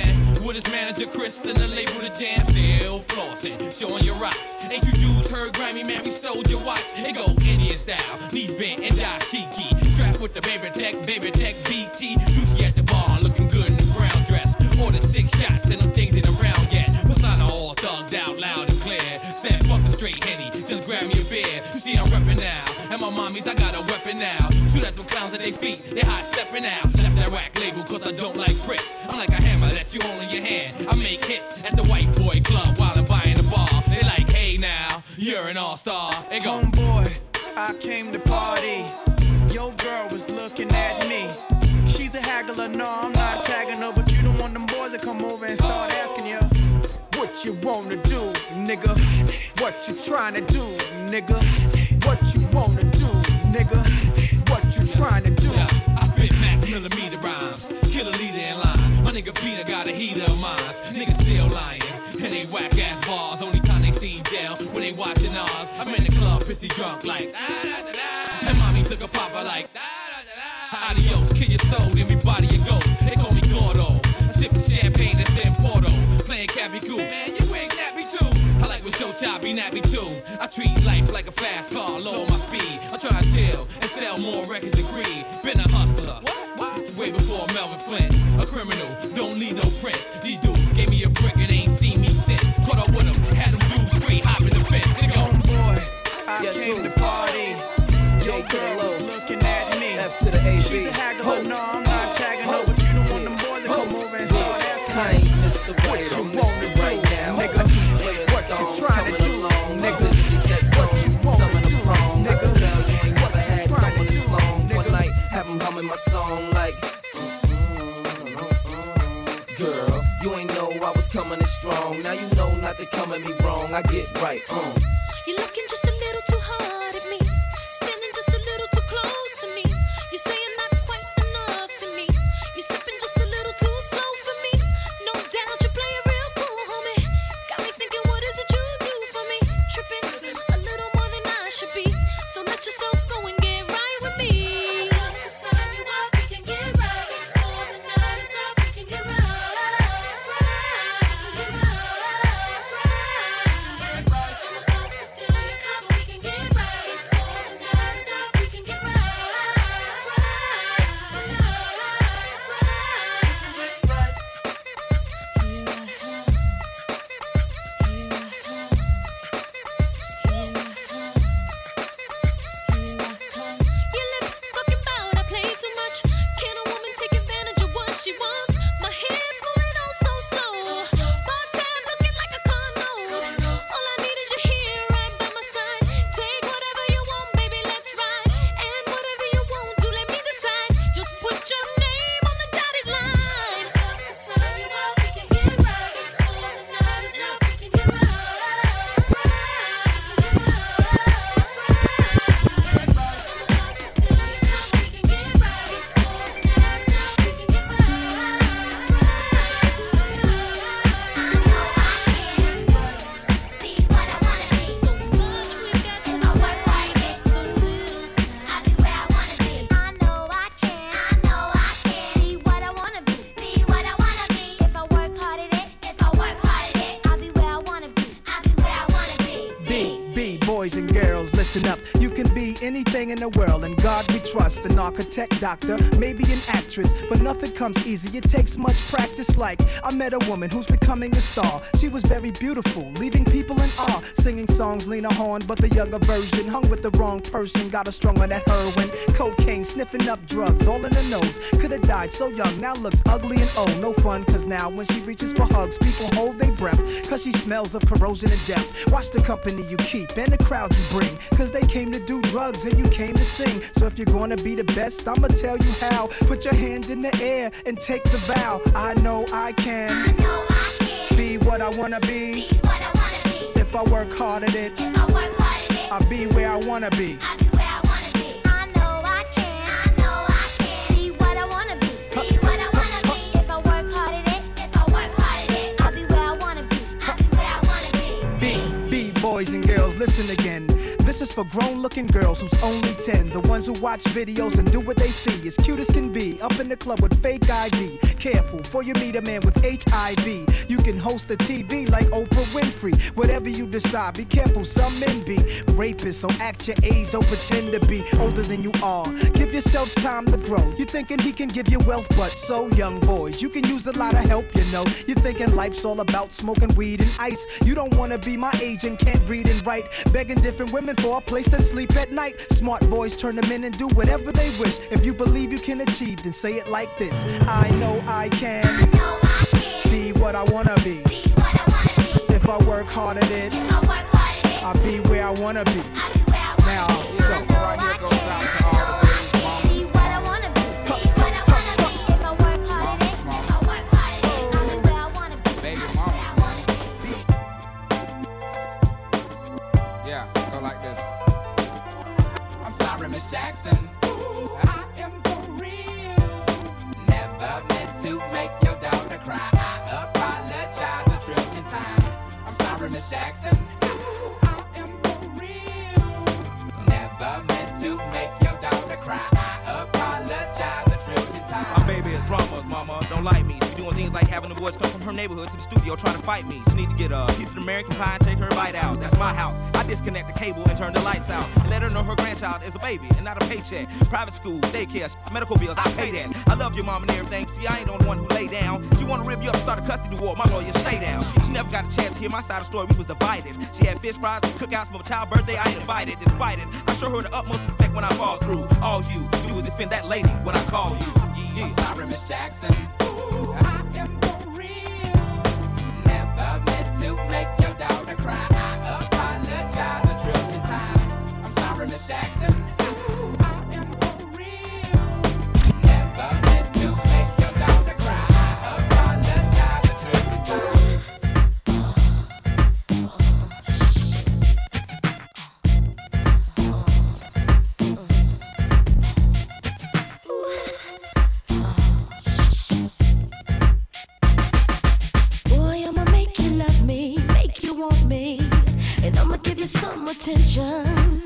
with his manager Chris and the label The Jam. Still flossing, showing your rocks. Ain't you dudes heard Grammy, man, we stole your watch. It go Indian style, knees bent and dashiki. Strapped with the baby tech BT. Juicy at the bar, looking good in the brown dress. Ordered 6 shots and them things ain't around yet. Persona all thugged out, loud and clear. Said fuck the straight Henny, just grab me a beer. You see I'm reppin' now, and my mommies, I got a weapon now. Shoot at them clowns at their feet, they hot steppin' out. Left that rack label cause I don't like bricks. I'm like a hammer that you hold in your hand. I make hits at the white boy club while I'm buying the bar. They like, hey now, you're an all-star. They go, homeboy, I came to party. Your girl was looking at me. She's a haggler, no, I'm not tagging her, but you don't want them boys to come over and start asking you what you wanna do, nigga. What you tryna do, nigga. What you wanna do, nigga. What you tryna do. Yeah, I spit max millimeter rhymes, kill a leader in line. My nigga Peter got a heater of mines. Niggas still lying, and they whack ass bars. Only time they see jail when they watching ours. I'm in the club, pissy drunk like da da da da. And mommy took a popper like da da da da. Adios, kill your soul, then we body your ghost. They call me Gordo. Sipping champagne that's in Porto. Playing Cappy Cool. Man, you ain't nappy too. I like when Joe Chop be nappy too. I treat life like a fast car, lower my speed. I try to chill and sell more records than greed. Been a hustler. Way before Melvin Flint's. A criminal, don't need no prints. These dudes gave me a brick and ain't seen me since. Caught up with them, had them dudes straight hopping the fence. They go, boy, I came to party. Your girl was looking at me. F to the AB. She's a haggler, no, I'm not tagging her, but you don't want them boys to come over and start asking I ain't missed the way what I'm you wanna do, right now. nigga. What you tryna do, nigga. What you wanna do, nigga. Tell you ain't never had someone this long. One night, have them humming my song like, girl, you ain't know I was coming in strong. Now you know not to come at me wrong. I get right, You're looking just a little too hard at me, standing just a little too close to me. You say you're not quite enough to me. You sipping just a little too slow for me. No doubt you play it real cool, homie. Got me thinking, what is it you do for me? Tripping a little more than I should be. So let yourself go and get right with me. I got to sign you up, we can get right. Before the night is up, we can get right. Up. You can be anything in the world, and God we trust. An architect, doctor, maybe an actress, but nothing comes easy. It takes much practice. Like I met a woman who's becoming a star. She was very beautiful, leaving people in awe. Singing songs, Lena Horne, but the younger version. Hung with the wrong person, got her strung on that heroin, cocaine, sniffing up drugs, all in the nose. Could've died so young, now looks ugly and old. No fun, cause now when she reaches for hugs, people hold their breath, cause she smells of corrosion and death. Watch the company you keep and the crowd you bring, cause they came to do drugs and you came to sing. So if you're gonna be the best, I'ma tell you how. Put your hand in the air and take the vow. I know I can, be what I wanna be. If I work hard at it, I'll be where I wanna be. Boys and girls, listen again. This is for grown-looking girls who's only 10. The ones who watch videos and do what they see. As cute as can be, up in the club with fake ID. Careful, for you meet a man with HIV. You can host a TV like Oprah Winfrey. Whatever you decide, be careful, some men be rapists. So act your age, don't pretend to be older than you are. Give yourself time to grow. You're thinking he can give you wealth, but so young boys, you can use a lot of help, you know. You're thinking life's all about smoking weed and ice. You don't wanna be my age and can't read and write. Begging different women for a place to sleep at night. Smart boys turn them in and do whatever they wish. If you believe you can achieve, then say it like this: I know I can, be what I wanna be. If I work hard at it, I'll be where I wanna be. Now, this one right here goes out to all the babies, mamas. Be what I wanna be. Be what I wanna be. If I work hard at it, if I work hard at it, I'll be where I wanna be. Baby mamas, man. Yeah, go like this. I'm sorry, Miss Jackson. Ooh, I am for real. Never meant to make your daughter cry. I apologize a trillion times. I'm sorry, Miss Jackson. Ooh, I am for real. Never meant to make your daughter cry. I apologize a trillion times. My baby is drama, mama. Don't like me. She be doing things like having the boys come from her neighborhood to the studio trying to fight me. She need to get a piece of the American pie and take her bite out. That's my house. I disconnect the cable and turn the lights out. And let her know her grandchild is a baby and not a paycheck. Private school, daycare, medical bills, I pay that. I love your mom and everything. See, I ain't the only one who lay down. She wanna rip you up, start a custody war. My lawyer, stay down. She never got a chance to hear my side of the story. We was divided. She had fish fries, cookouts for my child's birthday. I ain't invited. Despite it, I show her the utmost respect when I fall through. All you do is defend that lady when I call you. Yeah. I'm sorry, Miss Jackson. Ooh, I am for real. Never meant to make your daughter cry. I apologize a trillion times. I'm sorry, Miss Jackson. Ooh, I am for real. Never meant to make your daughter cry. I apologize a trillion times. Boy, I'ma make you love me, make you want me, and I'ma give you some attention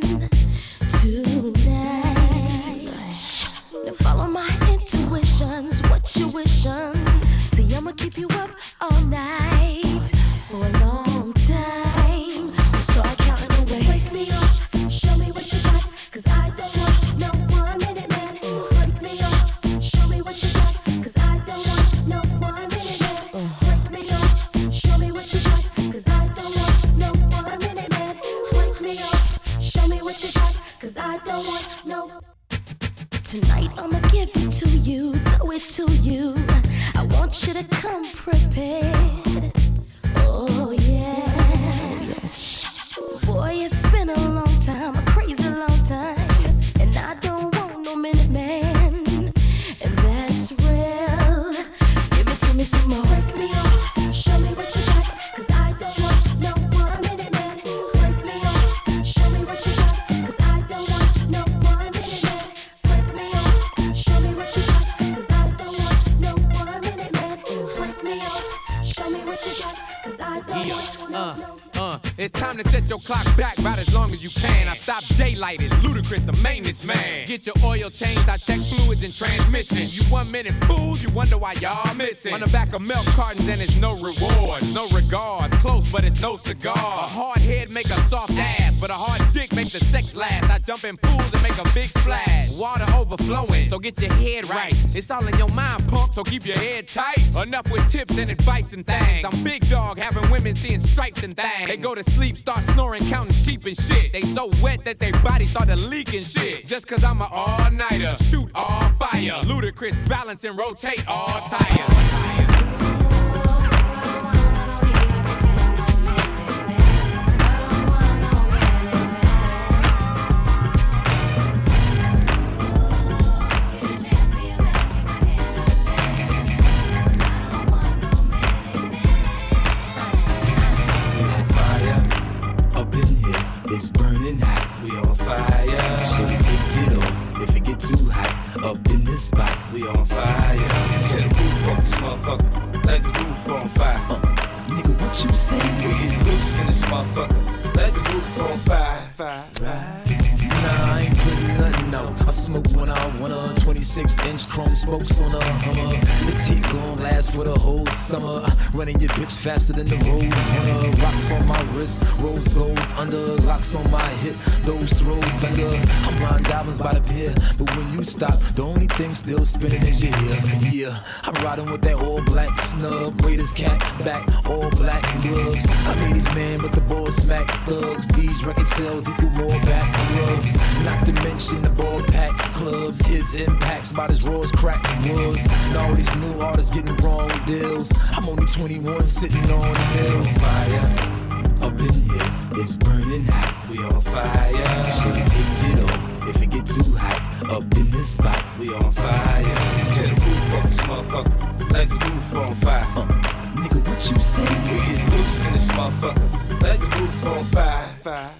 tonight. Now follow my intuitions, what you wishing. See, I'ma keep you up all night for a long time. So start counting away. Wake me up, show me what you got, 'cause I don't want no 1 minute man. Wake me up, show me what you got, 'cause I don't want no 1 minute man. Wake me up, show me what you got, 'cause I don't want no 1 minute man. Wake me up, show me what you got, 'cause I don't want no. Tonight I'ma give it to you, throw it to you. I want you to come prepared. Oh yeah. Oh yes. Boy, it's been a long time, a crazy long time, and I don't want no minute man, and that's real. Give it to me some more. Wake me up, show me what you got, 'cause I don't want no 1 minute man. Wake me up, show me what you got, 'cause I don't want no 1 minute man. Wake me up, show me what you got, 'cause I don't want no 1 minute man. Wake me up, show me what you got, 'cause I don't want no. It's time to set your clock back about as long as you can. I stop daylighted, Ludacris, the maintenance man. Get your oil changed, I check fluids and transmission. You 1 minute fools, you wonder why y'all missing. On the back of milk cartons and it's no rewards, no regards. Close, but it's no cigar. A hard head make a soft ass, but a hard dick make the sex last. I jump in pools and make a big splash. Water overflowing, so get your head right. It's all in your mind, punk, so keep your head tight. Enough with tips and advice and things. I'm big dog, having women seeing stripes and things. They go to sleep, start snoring, counting sheep and shit. They so wet that their body started leaking shit. Just 'cause I'm an all-nighter, shoot all fire. Ludacris, balance and rotate all tires. It's burning hot, we on fire. So take it off if it get too hot. Up in this spot, we on fire. Tear the roof off this motherfucker, let the roof on fire. Nigga, what you say? We get loose in this motherfucker, let the roof on fire. Nah, I ain't putting nothing out. I smoke when I wanna, 20 36-inch chrome spokes on a Hummer. This heat gon' last for the whole summer. Running your bitch faster than the road runner. Rocks on my wrist, rose gold under. Locks on my hip, those throw thunder. I'm riding diamonds by the pier, but when you stop, the only thing still spinning is your hair. Yeah, I'm riding with that all black snub. Raiders cap back, all black gloves. I made these man, but the ball smack thugs. These record sales equal more back rubs. Not to mention the ball pack clubs. His impacts about as raw as crack was. And all these new artists getting wrong deals. I'm only 21 sitting on the hills. Fire up in here, it's burning hot. We on fire. Should take it off if it get too hot. Up in this spot, we on fire. Tear the roof off this motherfucker, like the roof on fire. Nigga, what you say? We get loose in this motherfucker, like the roof on fire.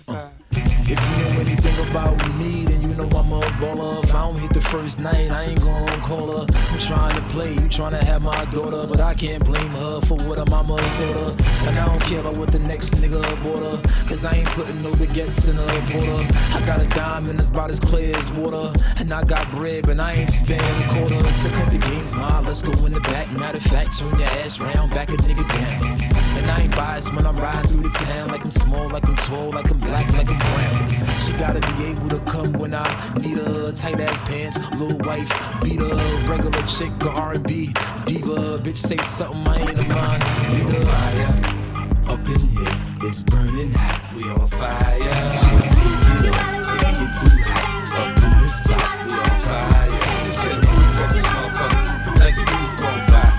If you know anything about me, then you know I'm a baller. If I don't hit the first night, I ain't gon' call her. I'm trying to play, you trying to have my daughter, but I can't blame her for what her mama told her. And I don't care about what the next nigga bought her, cause I ain't putting no baguettes in her border. I got a diamond that's about as clear as water, and I got bread, but I ain't spending quarters. So cut the games, ma, let's go in the back. Matter of fact, turn your ass round, back a nigga down. And I ain't biased when I'm riding through the town, like I'm small, like I'm tall, like I'm black, like I'm brown. She gotta be able to come when I need her. Tight ass pants, little wife, beat her. Regular chick or R&B diva. Bitch say something I ain't a mind. Read her. Fire up in here, it's burning hot. We on fire. She take it off if it get too hot. Up in this spot, we on fire. Tear the roof off this motherfucker, like the roof on fire.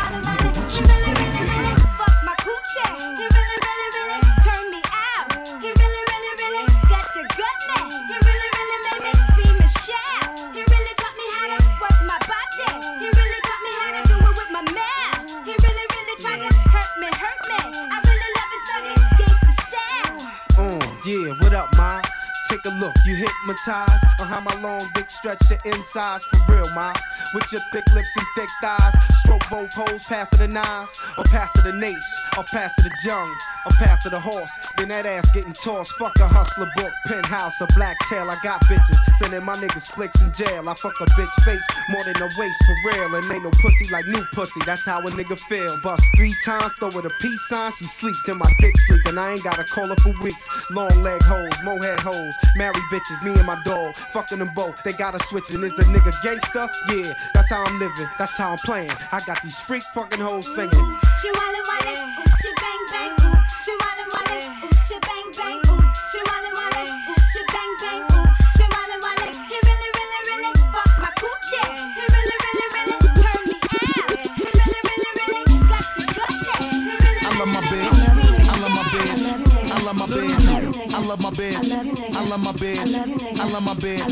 What you say? Fuck my coochie. He really, really, really turned me out. He really, really, really got the gut now. He really, really made me scream and shout. He really taught me how to work my body. He really taught me how to do it with my mouth. He really, really tried to hurt me, hurt me. I really love his thuggin' gangsta style. Yeah, what up, ma? Take a look, you hypnotized on how my long dick stretch your insides for real, ma. With your thick lips and thick thighs, stroke both hoes, pass it the nines, or pass it the Nash, or pass it the Jung, or pass it the horse. Then that ass getting tossed. Fuck a hustler book, penthouse, a black tail. I got bitches sending my niggas flicks in jail. I fuck a bitch face more than a waist for real, and ain't no pussy like new pussy. That's how a nigga feel. Bust 3 times, throw her the peace sign. She sleep, then my dick sleep, and I ain't gotta call her for weeks. Long leg hoes, mohead hoes. Married bitches, me and my dog, fucking them both. They gotta switch it. Is a nigga gangster? Yeah, that's how I'm living, that's how I'm playing. I got these freak fucking hoes singing. She wildin', wildin', ooh, she bang bang, ooh. She wildin', wildin', ooh, she bang bang, ooh. She wildin', wildin', ooh, she bang bang, ooh. She wildin', wildin', he really, really, really fuck my coochie. He really, really, really turned me out. He really, really, really got the gut now. He really, I love my bed. I love my bed. I love my bed. I love my bed. I love my bed. I love my bed.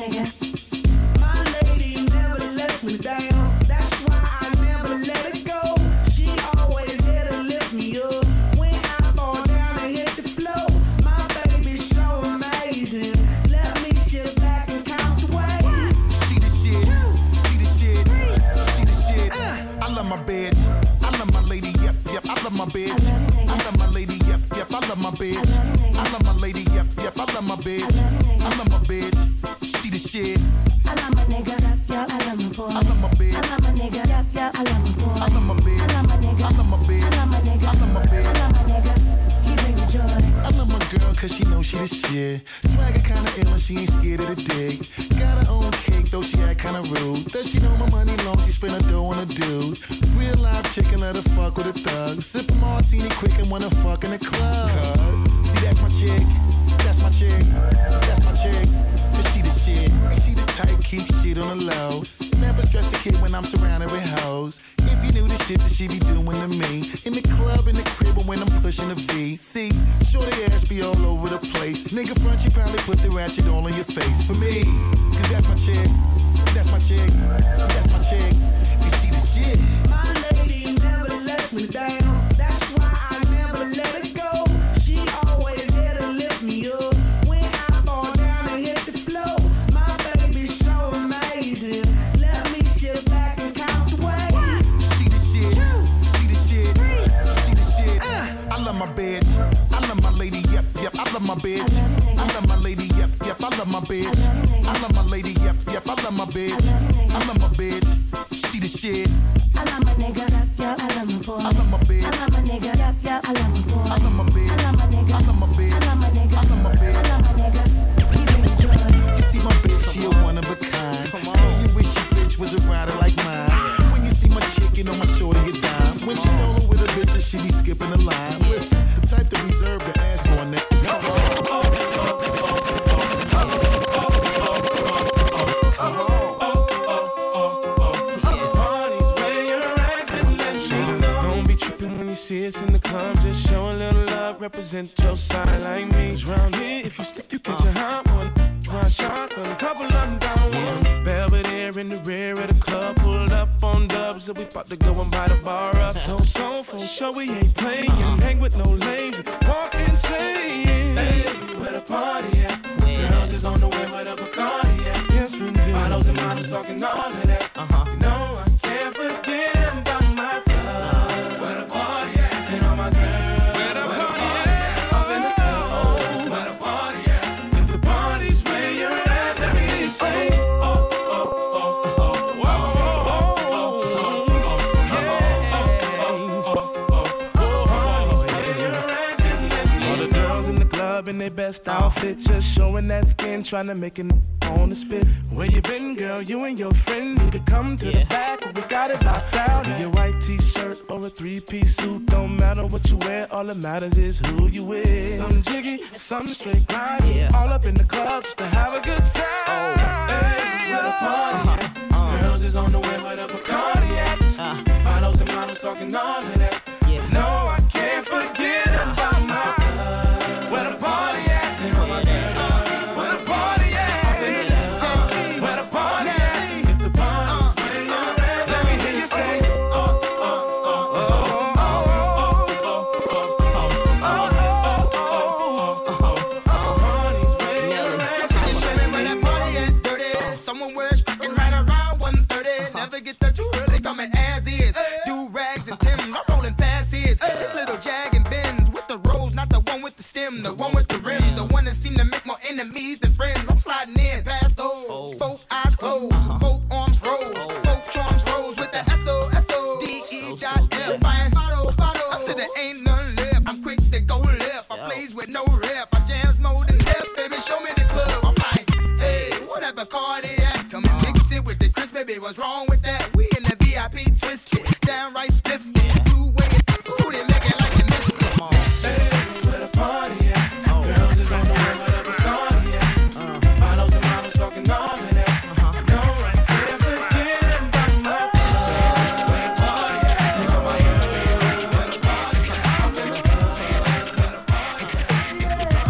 My lady never lets me down. That's why I never let it go. She always there to lift me up. When I fall down and hit the floor, my baby's so amazing. Let me sit back and count the way. She the shit. She the shit. She the shit. I love my bed. I love my lady. Yep, yep. I love my bed. I love my lady. Yep, yep. I love my bed. I love my lady. Yep, yep. I love my bed. I love my bed. She the shit. I love my nigga, yep, yep. I love my boy. I love my bed. I love my nigga, yep, yep. I love my boy. I love my bed. I love my nigga. I love my bed. I love my nigga. I love my bed. I love my nigga. He bring me joy. I love my girl cause she knows she the shit. Swagger kinda ill and she ain't scared of the dick. Got her own cake though she act kinda rude. Does she know my money long? She spend her dough on a dude. Real live chicken, let her fuck with a thug. Sip a martini quick and wanna fuck in the club. See that's my chick. That's my chick. That's my chick. Cause she the shit. And she the type keep shit on the low. Never stress the kid when I'm surrounded with hoes. If you knew the shit that she be doing to me. In the club, in the crib, or when I'm pushing the V. See, shorty ass be all over the place. Nigga front, she probably put the ratchet all on your face. For me, cause that's my chick. That's my chick. That's my chick. And she the shit. My lady never lets me down. That's why I never let it go. She always there to lift me up. When I fall down and hit the floor, my baby's so amazing. Let me sit back and count the way. She the shit. She the shit. She the shit. I love my bed. I love my lady. Yep, yep. I love my bed. I love my lady. Yep, yep. I love my bed. I love my lady. Yep, yep. I love my bed. I know my shorty get down. When she rollin' with a bitch, and she be skipping the line. Listen, the type to reserve the ass for a nigga. See us in the club, just show a little love, represent your side like me. 'Cause round here, if you slip, you catch a hot one. One shot, a couple of them down one. Belvedere in the rear of the club, pulled up on dubs, and we about to go and buy the bar up. So, for sure we ain't playing, hang with no lames, walk insane. Hey, where the party at? Girls is on the way, where the Bacardi at? Yes, we do. Bottles and models talking all of that. You know I can't forget about my thug. Where the party at? And all my girls. Where the party at? Up in the club. Where the party at? If the party's where you're at, let me hear you say. In their best outfit, just showing that skin, trying to make it on the spit. Where you been, girl? You and your friend need to come to the back. We got it locked down. In your white t-shirt or a three-piece suit, don't matter what you wear. All that matters is who you with. Some jiggy, some straight grind. All up in the club just to have a good time. Hey, where the party at? Girls is on the way, where the Bacardi at? Bottles and models talking all of that. No, I can't forget about my love. Where the party at? And all my girls. Where the party at? Where the party at? If the party's where you're at, let me hear you say. Someone wears fucking right around 1:30. Never get there too early, coming as is. Do rags and Timbs, I'm rolling past his. This little Jag and Benz with the rose, not the one with the stem, the one with the rims, the one that seem to make more enemies than friends. I'm sliding in past those, both eyes closed, both arms rose, both charms rose with the SOSODE.F. Buying bottle, up to there ain't none left. I'm quick to go left. I plays with no rep. I jams more than death, baby. Show me the club. I'm like, hey, whatever car they at, come and mix it with the Chris, baby. What's wrong with that? We in the VIP twisted, downright spiff. Two-way, they make it like you missed it. Hey, where the party at? Girls is on the way, where the Bacardi at? Bottles and models talking all of that. No, I can't forget about my love. Where the party at? And all my girls. Where the party at? I'm in the club. Where the party at?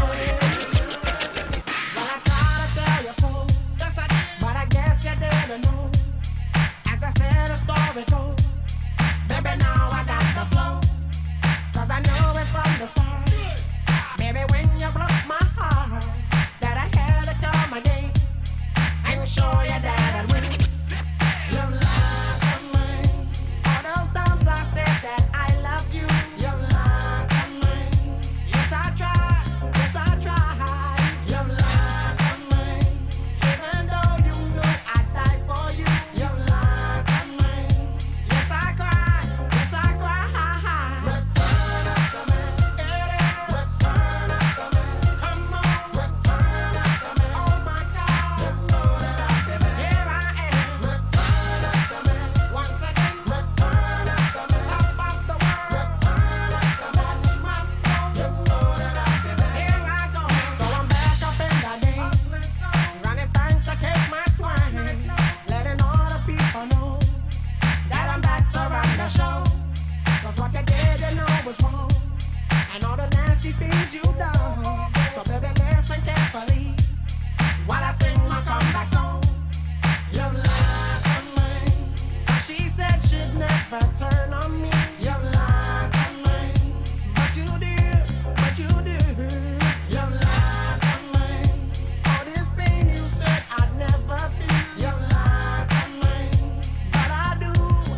Well, I tried to tell you so, yes I did, but I guess you didn't know. As I said, the story goes, baby, now I got the flow, 'cause I knew it from the start. Baby, when you broke my heart, that I had to come again and show you that I'd win. You lied to me. All those times I said that I loved you, you lied to me. Yes, I tried, yes, I tried. You lied to me. Even though you knew I'd die for you, you lied to me. Yes, I cried, yes, I cried. Return up the man, it is. Return up the man, come on. Return up the man, oh my God. You know that I've been here I am. Return up the man, once again. Return up the man, top of the world. Return up the man, watch my flow. You know that I've been here I go. So I'm back up in the game, running things to keep my swing, letting all the people know that I'm back to run the show. 'Cause what you did, you know was wrong, and all the nasty things you done. So baby, listen carefully while I sing my comeback song. You lied to me. She said she'd never turn on me. You lied to me, but you did, but you did. You lied to me. All this pain you said I'd never feel. You lied to me, but I do,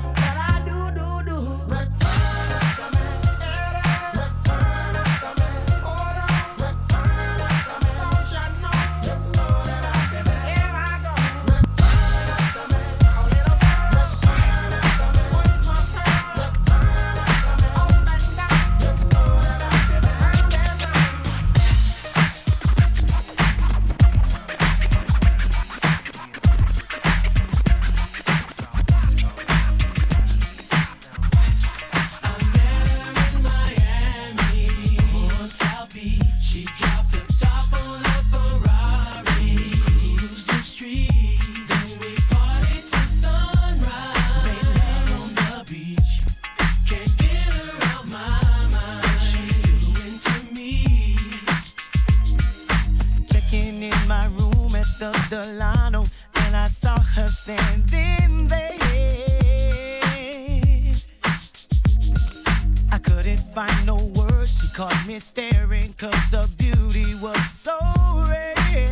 do. Return up the man, it is. Return up the man, hold on. Return up the man, don't you know? You know that I've been find no words. She caught me staring, cause her beauty was so rare.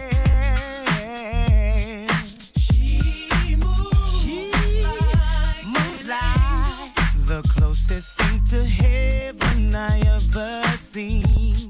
She moves like the closest thing to heaven I ever seen.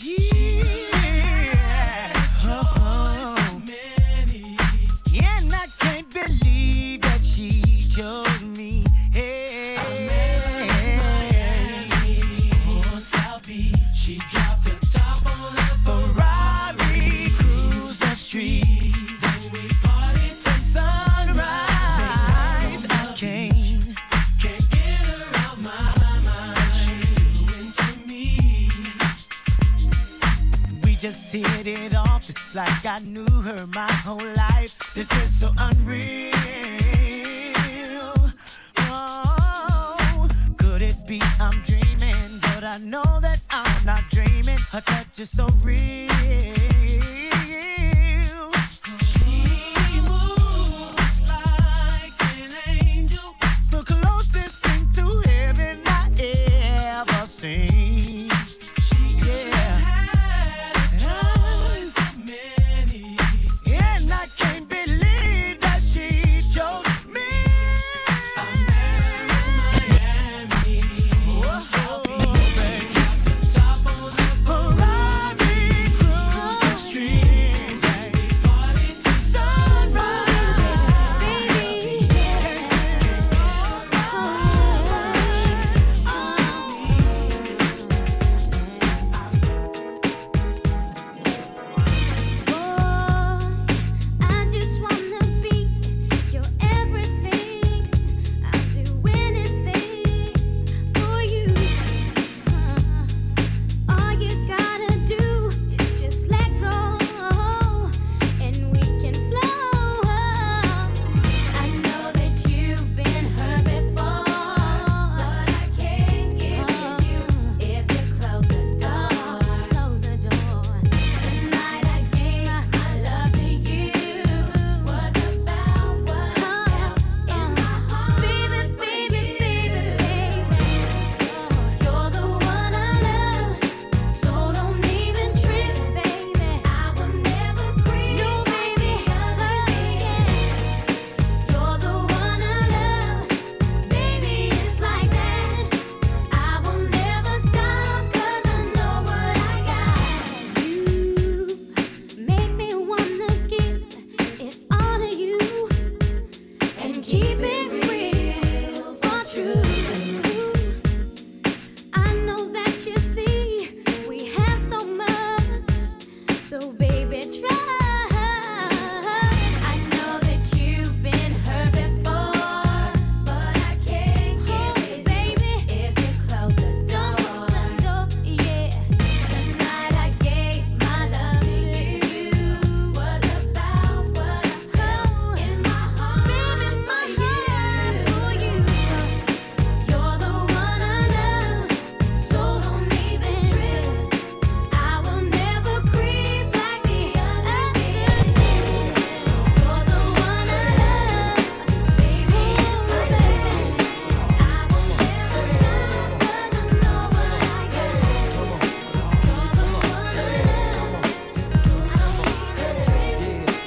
And I can't believe that she chose me. Hey. I met her in Miami on South Beach. She dropped the top on her Ferrari, cruised the streets, and we partied till sunrise. I can't get her out my mind. She's doing to me. We just hit it off. It's like I knew her my whole life. This is so unreal. Oh, could it be I'm dreaming? But I know that I'm not dreaming. Her touch is so real. She moves like an angel, the closest thing to heaven I ever seen. And I can't believe that she chose me. I met her in Miami. Oh, baby. Top on the Ferrari, cruise the streets, and we party till sunrise. I just wanna be your everything. I'll do anything for you. All you gotta do is just let go, and we can flow. I know that you've been hurt before, but I can't give you if you close the door. Close the door. The night I gave my love to you was about what I felt in my heart. Baby, baby, baby, baby, you're the one I love, so don't even trip, baby. I will never creep. No, baby, you're the one I love, baby. It's like that. I will never stop, 'cause I know what I got. You make me wanna give it all to you and keep it real for true. I know that you see we have so much, so baby try. I know that you've been hurt before, but I can't give it, baby, if you close the door. Yeah. The night I gave my love to you was about what I felt in my heart. Baby, my heart for you. You're the one I love, so don't even trip. I will never creep like the others did. You're the one I love, baby, it's my baby. I will never stop, 'cause I know what I got. You're the one I love, so I don't even trip.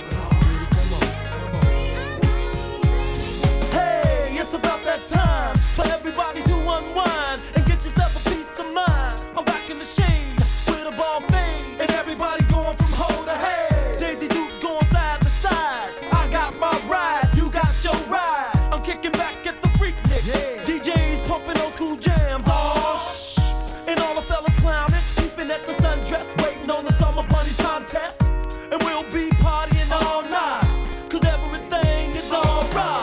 Hey, it's about that time for everybody to unwind and get yourself a peace of mind. I'm back in the shade with a ball fade, and everybody going from hoe to head. Daisy Dukes going side to side. I got my ride, you got your ride. I'm kicking back at the Freaknik. DJs pumping old school jams. Oh, shh. And all the fellas clowning, peeping at the sundress, waiting on the Summer Bunnies contest. And we'll be partying all night, 'cause everything is alright.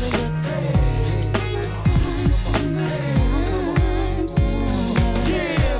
Yeah.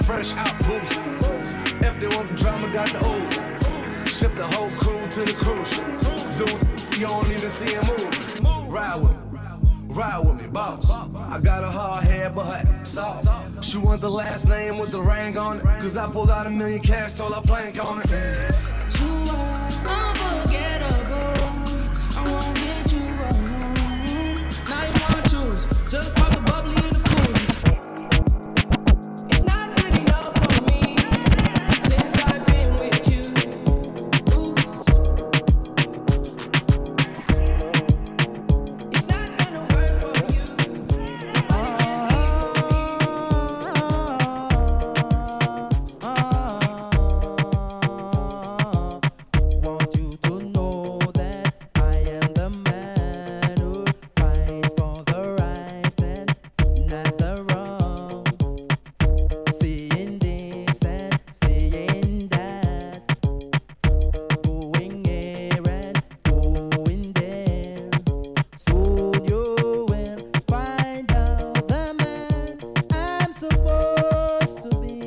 fresh out boost. If they want the drama, got the ooze. Ship the whole crew to the cruise ship. Dude, you don't even see him move. Ride with me, boss. I got a hard head, but her ass off. She want the last name with the ring on it. Cause I pulled out $1 million cash, told her plank on it. You are unforgettable. I won't get you alone. Now you wanna choose. Just pop the bubbly in the pool. It's not good enough for me since I've been with you. Ooh. It's not gonna work for you. Want you to know that I am the man who fight for the right and not the wrong. Seeing this and seeing that, going here and going there. Soon you will find out the man I'm supposed to be.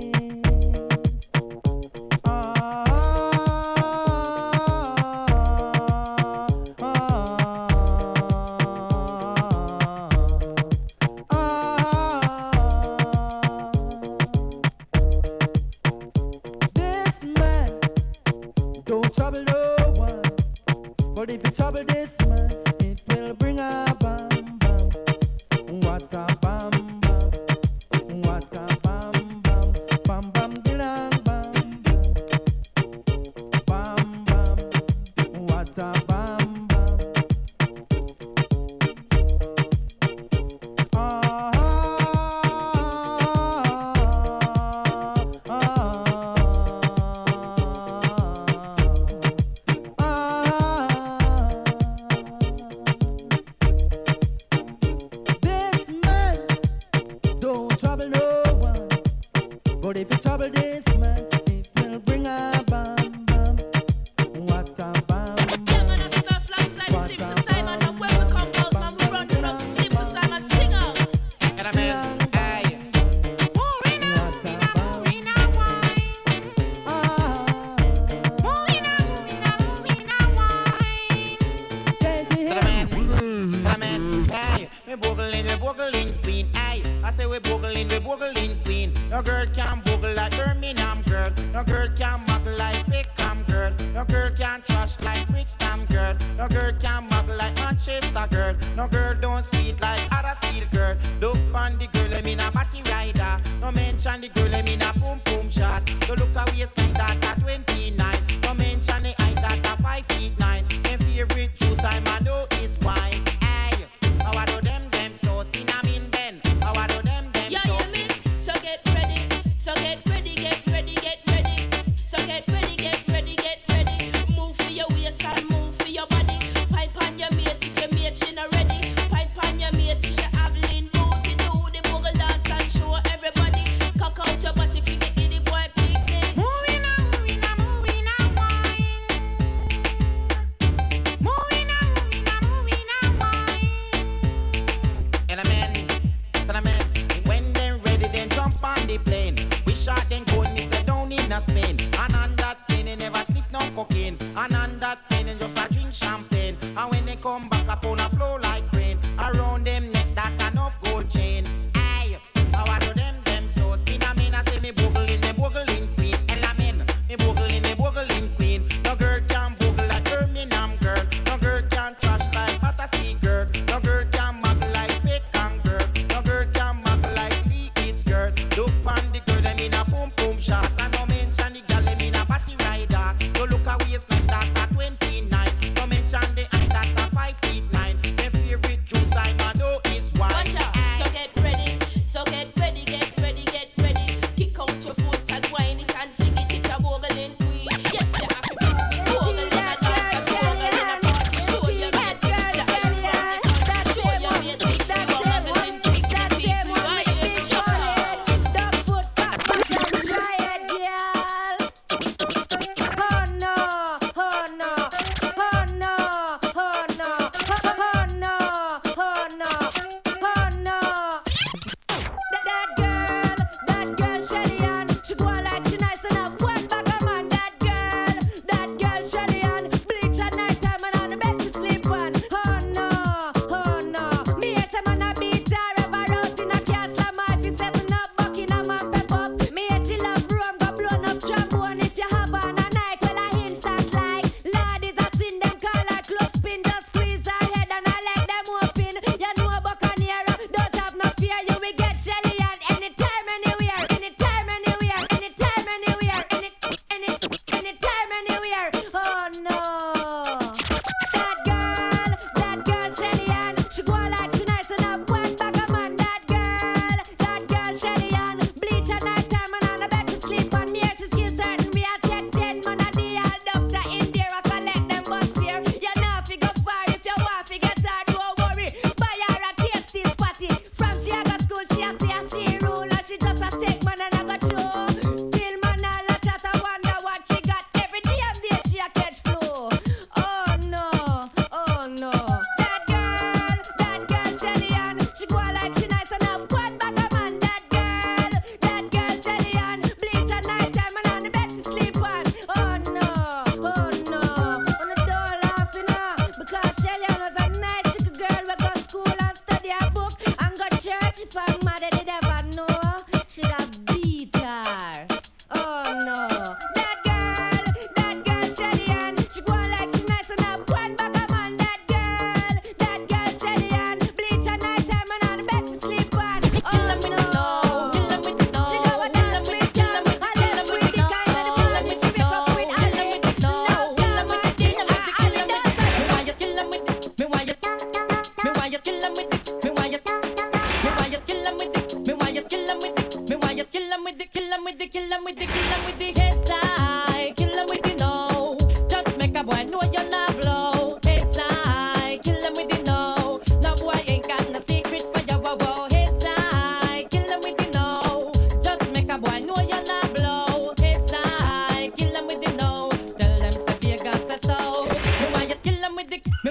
This man don't trouble no one, but if you trouble this man, it will bring a bam bam. What a bam bam, what a bam bam, bam bam dilang bam bam, bam bam, what a bam bam. This man don't trouble no one, but if you trouble this man, it will bring a bam bam. What a bam bam. What a bam We boogling queen, aye. I say we boogling queen. No girl can boogle like Birmingham girl. No girl can muggle like Wickham girl. No girl can trash like Brixton girl. No girl can muggle like Manchester girl. No girl don't sweet like Huddersfield girl. Look on the girl, I mean a body rider. No mention the girl, I mean a boom boom shot. So look a waistline that at 29. No mention the height that at 5'9". My favorite juice I'm a know is wine. Aye, how I do them so spin 'em in Ben. How I do them Yeah, so. you mean? So get ready. So get ready, get ready, get ready. So get ready, get ready, get ready. Move for your waist and move for your body. Pipe on your mate if your mate she not ready. Pipe on your mate if she have lean booty. Do the boogle dance and show everybody. Cock out your body if you get the boy picnic. Moving on, moving on, moving on, wine. Moving on, moving on, moving on, wine. And a man, when they ready, then jump on the plane. We shot then go and miss down in a Spain. And on that plane, they never sniff no cocaine. And on that plane, they just a drink champagne. And when they come back up on a flow like rain, around them neck that enough gold chain. Aye, how I do them so spin a man, I say me boogling queen. Elamin, me boogling queen. No girl can boogle like Birmingham girl. No girl can trash like Battersea girl. No girl can muggle like Wickham girl. No girl can muggle like Leeds girl. Look on the girl, I mean a boom boom shot. And no mention the girl, I mean a body rider. You look a waistline that at 29. No mention the height that at 5'9". My favorite juice I'm a know is wine. Watch out. So get ready.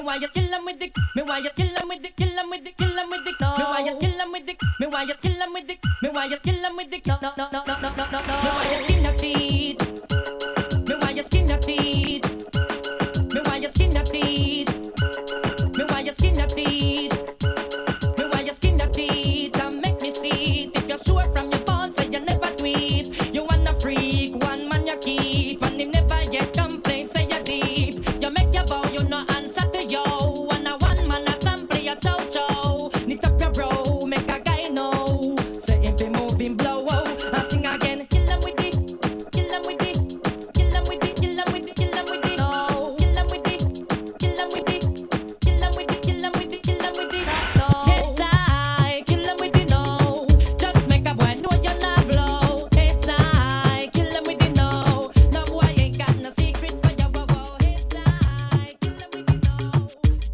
why you kill 'em with the, me why you kill 'em with the, kill 'em with the, kill 'em with the, me why you kill 'em with the, me why you kill 'em with the, me why you kill 'em with the, no, me why you skin your teeth, me why you skin your teeth, me why you skin your teeth, me why you skin your teeth, me why you skin your teeth, and make me see it. If you're sure from your bones, so you never tweet, you wanna freak, one man you keep, and him never yet complain, say you're deep, you make your vow, you no answer to yo, and a one man a sample your chow chow, knit up your bro, make a guy know, say if he move him blow, and sing again, kill 'em with it, kill 'em with it, kill 'em with it, kill 'em with it, kill 'em with it, no, kill 'em with it, kill 'em with it, kill 'em with it, kill 'em with it, kill 'em with it, no, it's I, kill 'em with it, no, just make a boy know you're not blow, it's I, kill 'em with it, no, no boy ain't got no secret for your woe, it's I, kill 'em with it, no.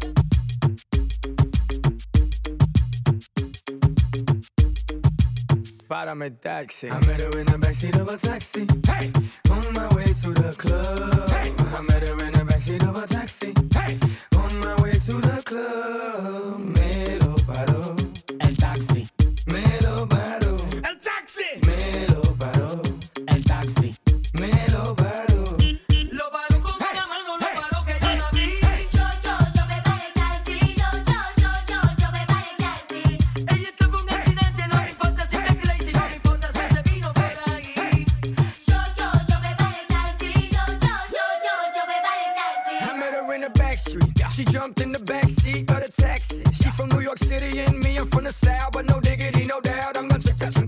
Párame taxi. I met her in the backseat of a taxi. Hey, on my way to the club. Hey, I met her in the backseat of a taxi. Hey, on my way to the club. Me lo paró el taxi. Me lo paró El taxi. Me lo paró El taxi. Me lo paró. Lo paró con una mano, lo paró que yo la vi. Yo me paré el taxi. Yo me paré el taxi. Ella tuvo un accidente, no me importa si te crazy, no me importa si se vino por ahí. Yo me paré el taxi. Yo me paré el taxi. I met her in the back street. She jumped in the back seat of the taxi. She from New York City and me, I'm from the South, but no diggity, no doubt. I'm gonna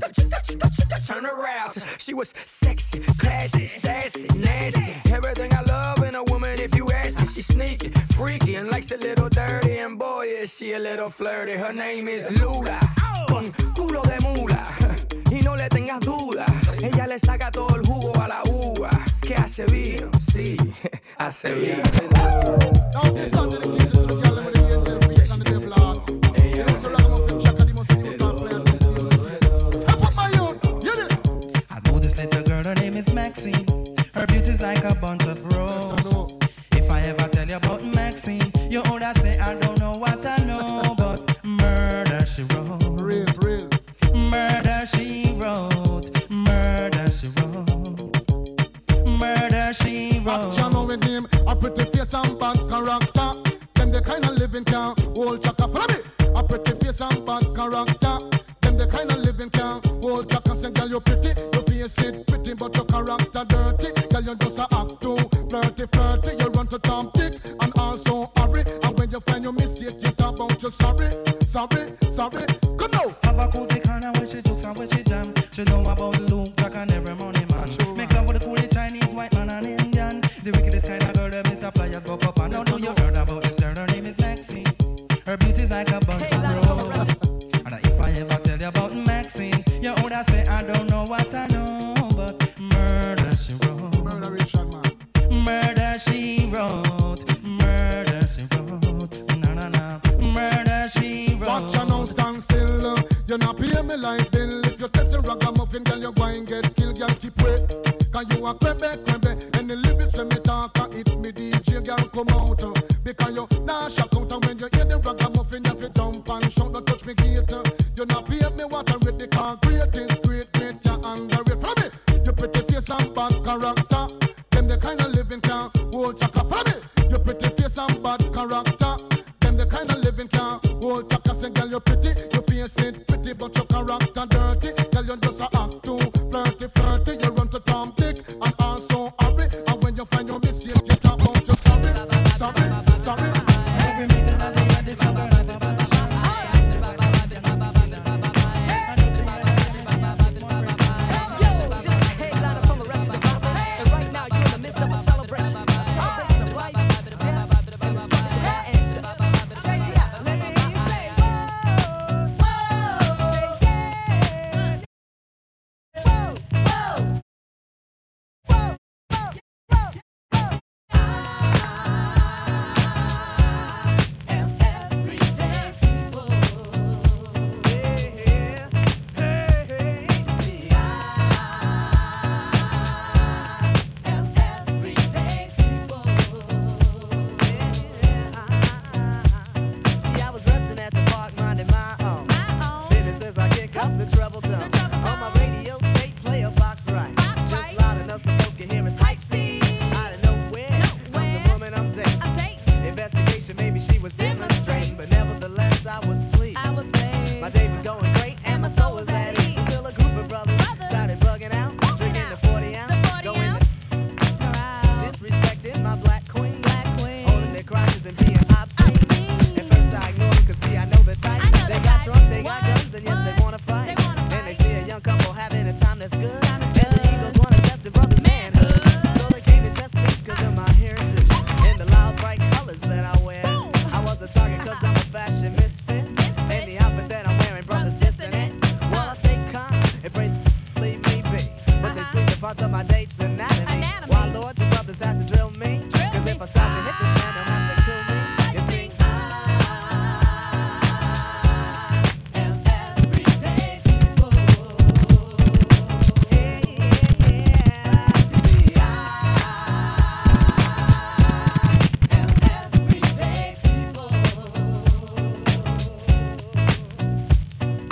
turn around. She was sexy, classy, sassy, nasty. Everything I love in a woman, if you ask me. She's sneaky, freaky, and likes a little dirty. And boy, is she a little flirty. Her name is Lula, con culo de mula. Y no le tengas duda, ella le saca todo el jugo a la uva. Que hace vino, sí, hace vino. Now this song dedicated to the girl with the angel face and the devil heart. You know, so ragamuffin Jack and the most beautiful players. Step up my youth, hear this. I know this little girl, her name is Maxine. Her beauty's like a bunch of roses. If I ever tell you about Maxine, you older say I don't know what I know, but murder she wrote. Real. Murder she wrote. Murder she wrote. Murder she wrote. Action on with him, a pretty face and bad character. Them the kind of living can hold chaka. Follow me. A pretty face and bad character. Them the kind of living can hold chaka. Say, girl, you pretty, your face it pretty, but your character dirty. Girl, you just a act too flirty. You run to Tom Dick and also hurry. And when you find your mistake, you talk about you sorry. Come now. Have a cozy corner where she jokes and where she jam. She know about Luke Jack and every money man. Make love with the coolie Chinese, white man and Indian. The wickedest kind of girl that miss a flyers go up and down. Know you heard about this girl, her name is Maxine. Her beauty's like a bunch of roses. And if I ever tell you about Maxine, you older say I don't know what I know, but murder she wrote. Murder she wrote. Murder she wrote. Na. Murder she wrote. Watch you now, stand still. You not pay me like bill. If you test a ragamuffin, girl, you go and get killed. Girl, keep wait. Cause you a crembe. And the lyrics when me talk, it me DJ, girl, come out. Because you nah shock out. And when you hear the ragamuffin, you have to jump and shout, don't touch me gate. You not pay me what I read the car. Great is great, you underrate. From me, you pretty face and bad character. Them the kind of living can hold chaka. From me, you pretty face and bad character. Them the kind of living can hold chaka. Say, girl, you pretty, your face it pretty, but your character dirty. Girl, you just a act too flirty. You run to Tom Dick and also hurry. And when you find your mistake, you talk about you sorry. Every minute I do this, I'm gonna she was demonstrating, but nevertheless I was pleased. My day was going great and my soul was at ease until a group of brothers started bugging out, drinking the 40 ounce, going disrespecting my black queen, holding their crotches and being obscene. At first I ignored them 'cause see I know the type. They got drunk, they got guns, and yes they wanna fight. And they see a young couple having a time that's good, and the egos wanna test the brother's manhood. So they came to test me 'cause of my heritage and the loud bright colors that I wear. I was a target 'cause I'm a fashion misfit, and the outfit that I'm wearing, brothers dissing it. Well, I stay calm and pray leave me be, but they squeeze the parts of my date's anatomy. Why, Lord, you brothers have to drill me? 'Cause if I start to hit the